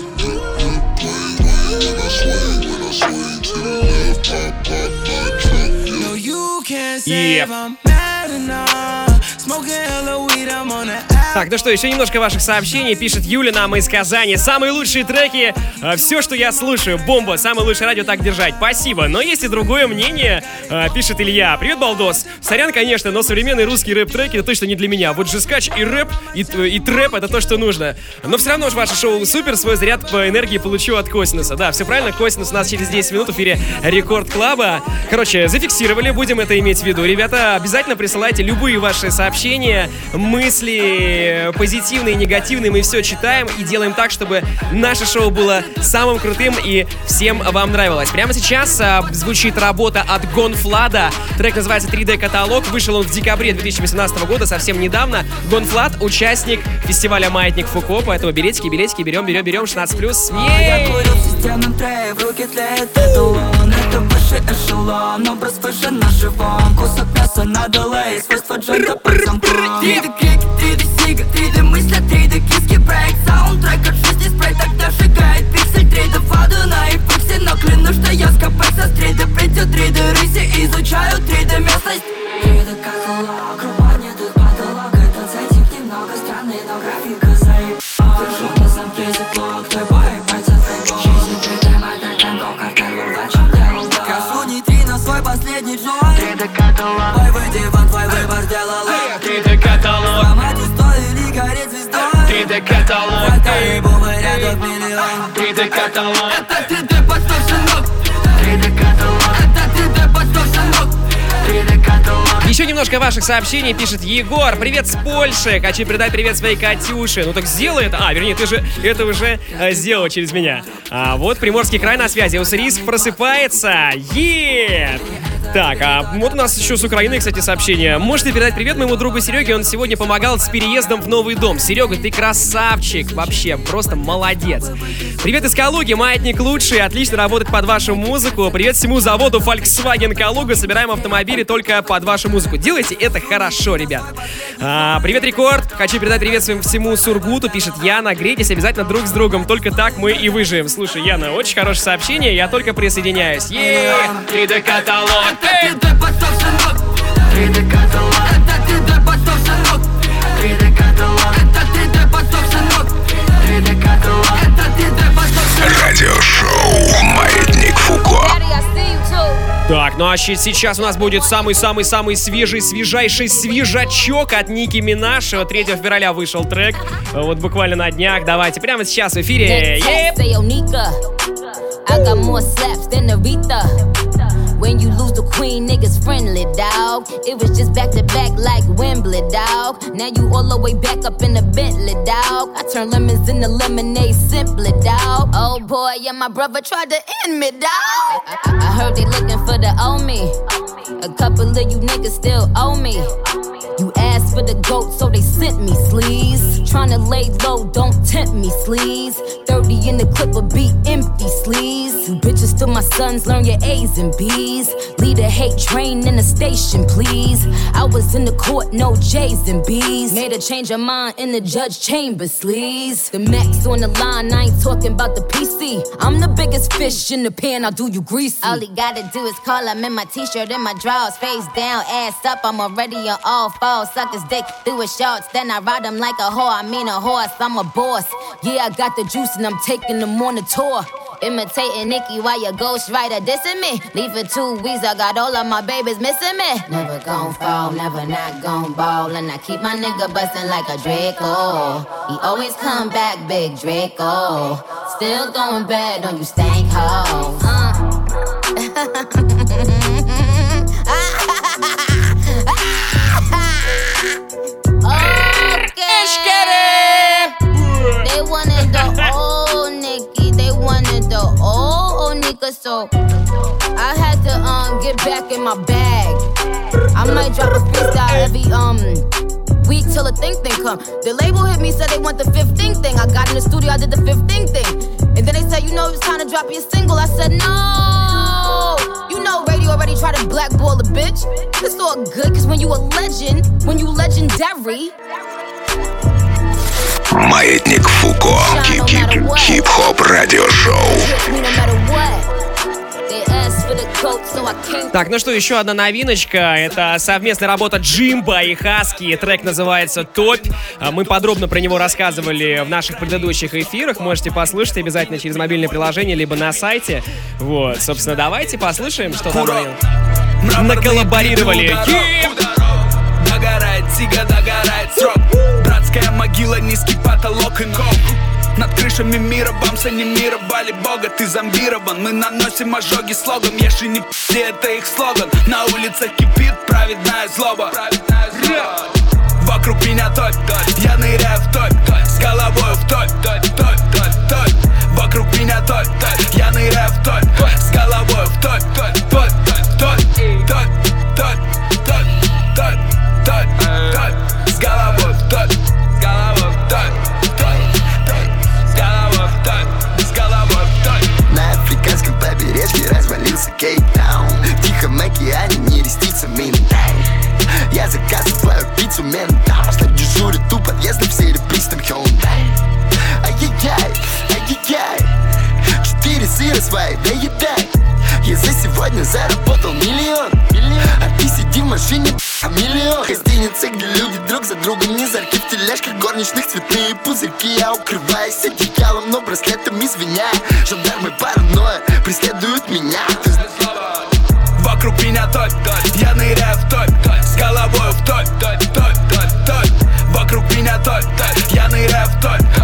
Speaker 6: No, you can't say I'm mad enough. Smoking hella weed, I'm on the
Speaker 2: Так, ну что, еще немножко ваших сообщений. Пишет Юля нам из Казани. Самые лучшие треки, все, что я слушаю, бомба, самое лучшее радио, так держать. Спасибо. Но есть и другое мнение, пишет Илья. Привет, Балдос. Сорян, конечно, но современные русские рэп-треки это точно не для меня. Вот жескач и рэп, и трэп это то, что нужно. Но все равно же ваше шоу супер, свой заряд по энергии получу от Косинуса. Да, все правильно, Косинус у нас через 10 минут в эфире Рекорд Клаба. Короче, зафиксировали, будем это иметь в виду. Ребята, обязательно присылайте любые ваши сообщения, мысли, позитивные, негативные, мы все читаем и делаем так, чтобы наше шоу было самым крутым и всем вам нравилось. Прямо сейчас звучит работа от Гонфлада. Трек называется 3D Каталог. Вышел он в декабре 2018 года, совсем недавно. Гонфлад — участник фестиваля Маятник Фуко, поэтому билетики, берем 16+.
Speaker 5: Я курю в системном трее, в руке тлеет эталон. Это высший эшелон, образ выше на живом. Кусок мяса на делей, свойства джента под замком. 3D крики, 3D сига, 3D мысли, 3D киски, брейк. Саундтрек от жизни, спрей тогда сжигает пиксель. 3D воду на эпокси, но клянусь, что я скопаюсь со 3D придет 3D рыси, изучаю 3D местность. 3D каталог, рубание тут потолок. Этот сайтик немного странный, но графика заебала. Держу на замке заклок, твой бой, пальцев фейбол. Жизнь 3D, модель танго, картель, урвать, чем делал. Кашу нейтрино, свой последний джой. 3D каталог, бой, выйди вон, твой выбор.
Speaker 14: декаталон.
Speaker 5: Любого ряда в миллион.
Speaker 14: 3 декаталон.
Speaker 5: Это 3D по 100 шинок. 3 декаталон. Это 3D по 100 шинок. 3 декаталон.
Speaker 2: Еще немножко ваших сообщений, пишет Егор. Привет с Польши. Хочу передать привет своей Катюше. Ну так сделай это. Вернее, ты же это уже сделал через меня. Вот Приморский край на связи. Уссурийск просыпается. Так, вот у нас еще с Украины, кстати, сообщение. Можете передать привет моему другу Сереге, он сегодня помогал с переездом в новый дом. Серега, ты красавчик, вообще, просто молодец. Привет из Калуги, маятник лучший, отлично работать под вашу музыку. Привет всему заводу Volkswagen Калуга, собираем автомобили только под вашу музыку. Делайте это хорошо, ребят. Привет, Рекорд, хочу передать привет всему Сургуту, пишет Яна. Грейтесь обязательно друг с другом, только так мы и выживем. Слушай, Яна, очень хорошее сообщение, я только присоединяюсь.
Speaker 14: 3 декаталон.
Speaker 5: Это 3D по 100 шинок. 3 декаталон. Это 3D по 100 шинок. 3 декаталон. Это 3D по 100 шинок. 3 декаталон. Это 3D по 100 шинок.
Speaker 1: Радиошоу «Маятник Фуко».
Speaker 2: Так, ну а сейчас у нас будет самый-самый-самый свежайший свежачок от Ники Минаж. 3 февраля вышел трек, вот буквально на днях. Давайте прямо сейчас в эфире.
Speaker 7: When you lose the queen, niggas friendly, dawg. It was just back to back like Wembley, dawg. Now you all the way back up in the Bentley, dawg. I turn lemons into lemonade simply, dawg. Oh boy, yeah, my brother tried to end me, dawg. I heard they looking for the owe me. A couple of you niggas still owe me. You asked for the goat, so they sent me, sleaze. Tryna lay low, don't tempt me, sleaze. 30 in the clip will be empty, sleaze. You bitches still my sons, learn your A's and B's. Lead a hate train in the station, please. I was in the court, no J's and B's. Made a change of mind in the judge chamber, sleaze. The max on the line, I ain't talking about the PC. I'm the biggest fish in the pan, I'll do you greasy. All he gotta do is call, I'm in my t-shirt and my drawers. Face down, ass up, I'm already on all fours. Suckers dick through his shorts, then I ride him like a whore. I mean a horse, I'm a boss. Yeah, I got the juice and I'm taking them on a tour. Imitating Nicki while your ghostwriter dissing me. Leave for 2 weeks, I got all of my babies missing me. Never gon' fall, never not gon' ball. And I keep my nigga bustin' like a Draco. He always come back, big Draco. Still going bad on you stank hoes. They wanted the old Nicki, they wanted the old Nika, so I had to get back in my bag. I might drop a freestyle every week till the thing come. The label hit me, said they want the 15th thing. I got in the studio, I did the 15th thing, and then they said, you know, it's time to drop your single. I said no. You know, radio already tried to blackball a bitch. It's all good, cause when you a legend, when you legendary.
Speaker 1: Маятник Фуко. Хип-хоп радиошоу.
Speaker 2: Так, ну что, еще одна новиночка. Это совместная работа Джимбо и Хаски. Трек называется «Топь». Мы подробно про него рассказывали в наших предыдущих эфирах. Можете послушать обязательно через мобильное приложение, либо на сайте. Вот, собственно, давайте послушаем, что там наколлаборировали.
Speaker 10: Догорает сига, догорает срок. Братская могила, низкий потолок и ног. Над крышами мира бамс анимировали бога. Ты зомбирован, мы наносим ожоги слогом. Еши не пи***, это их слоган. На улицах кипит праведная злоба. Вокруг меня топь, я ныряю в топь. С головой в топь, топь. Вокруг меня топь, я ныряю в топь. С головой в топь, топь. С головой в топь, с головой в топь.
Speaker 23: На африканском побережье развалился Кейптаун. В Тихом океане не рестится Минтаун. Я заказываю пиццу ментал. Что дежурит у подъезда в серебристом Hyundai. Ай-яй-яй, ай-яй-яй. 4 сыра свои доедай. Я за сегодня заработал миллион. А ты сиди в машине, миллион. Гостиница, где люди друг за другом не зарки. В тележках горничных цветные пузырьки. Я укрываюсь одеялом, но браслетом извиняй. Жандармы паранойя преследуют меня.
Speaker 10: Вокруг меня топь, я ныряю в топь. С головой в топь. Вокруг меня топь, я ныряю в топь.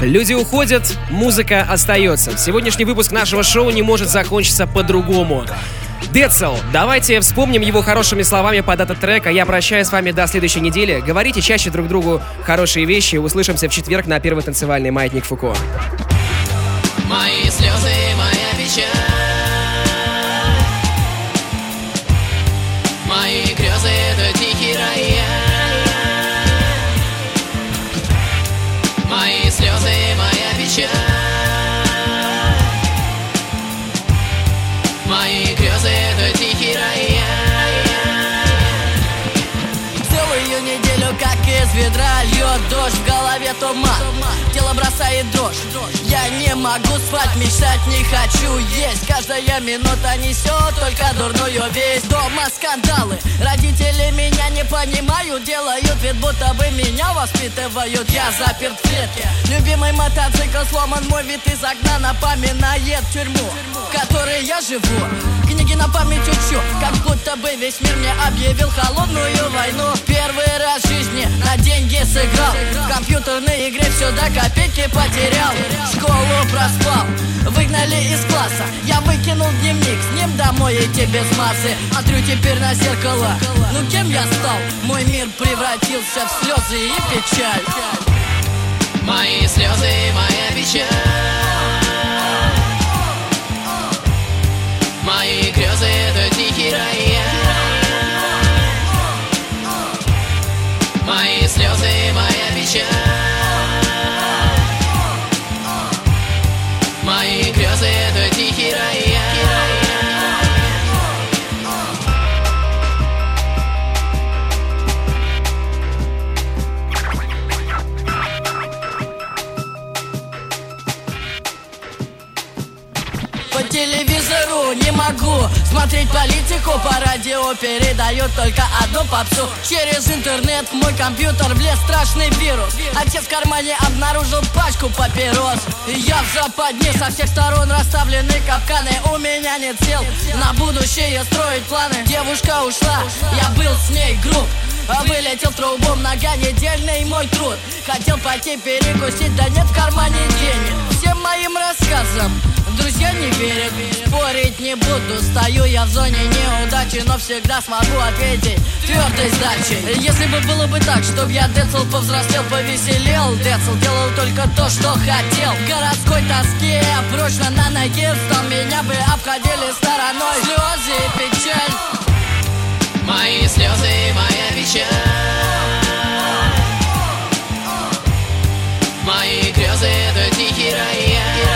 Speaker 2: Люди уходят, музыка остается. Сегодняшний выпуск нашего шоу не может закончиться по-другому. Децл, давайте вспомним его хорошими словами под этот трек, а я прощаюсь с вами до следующей недели. Говорите чаще друг другу хорошие вещи. Услышимся в четверг на первый танцевальный маятник Фуко.
Speaker 9: Мои слезы, моя печаль, мои грезы — это тихий рояль. Мои слезы, моя печаль, мои грезы — это тихий рояль. Целую неделю, как из ведра, льет дождь, в голове туман, тело бросает дрожь. Я не могу спать, мечтать не хочу есть. Каждая минута несет только дурную весть. Дома скандалы, родители меня не понимают, делают вид, будто бы меня воспитывают. Я заперт в клетке, любимый мотоцикл сломан, мой вид из окна напоминает тюрьму, в которой я живу. Книги на память учу, как будто бы весь мир мне объявил холодную войну. Первый раз в жизни на деньги сыграл, в компьютерной игре все до копейки потерял. Школу проспал, выгнали из класса, я выкинул дневник, с ним домой идти без массы. Смотрю теперь на зеркало, ну кем я стал? Мой мир превратился в слезы и печаль. Мои слезы, моя печаль, мои грезы — это тихий рояль. Мои слезы, моя печаль, мои грезы — это тихий рояль. По телевизору не могу смотреть политику, по радио передают только одну попсу. Через интернет в мой компьютер влез страшный вирус. Отец в кармане обнаружил пачку папирос. Я в западне, со всех сторон расставлены капканы. У меня нет сил на будущее строить планы. Девушка ушла, я был с ней груб, вылетел трубом, многонедельный мой труд. Хотел пойти перекусить, да нет в кармане денег. Всем моим рассказам друзья не верят, спорить не буду. Стою я в зоне неудачи, но всегда смогу ответить твердой сдачей. Если бы было бы так, чтоб я Децл повзрослел, повеселел, Децл делал только то, что хотел. В городской тоске прочно на ноге встал, меня бы обходили стороной слезы и печаль. Мои слезы, моя печаль, мои грезы — это тихий рояль.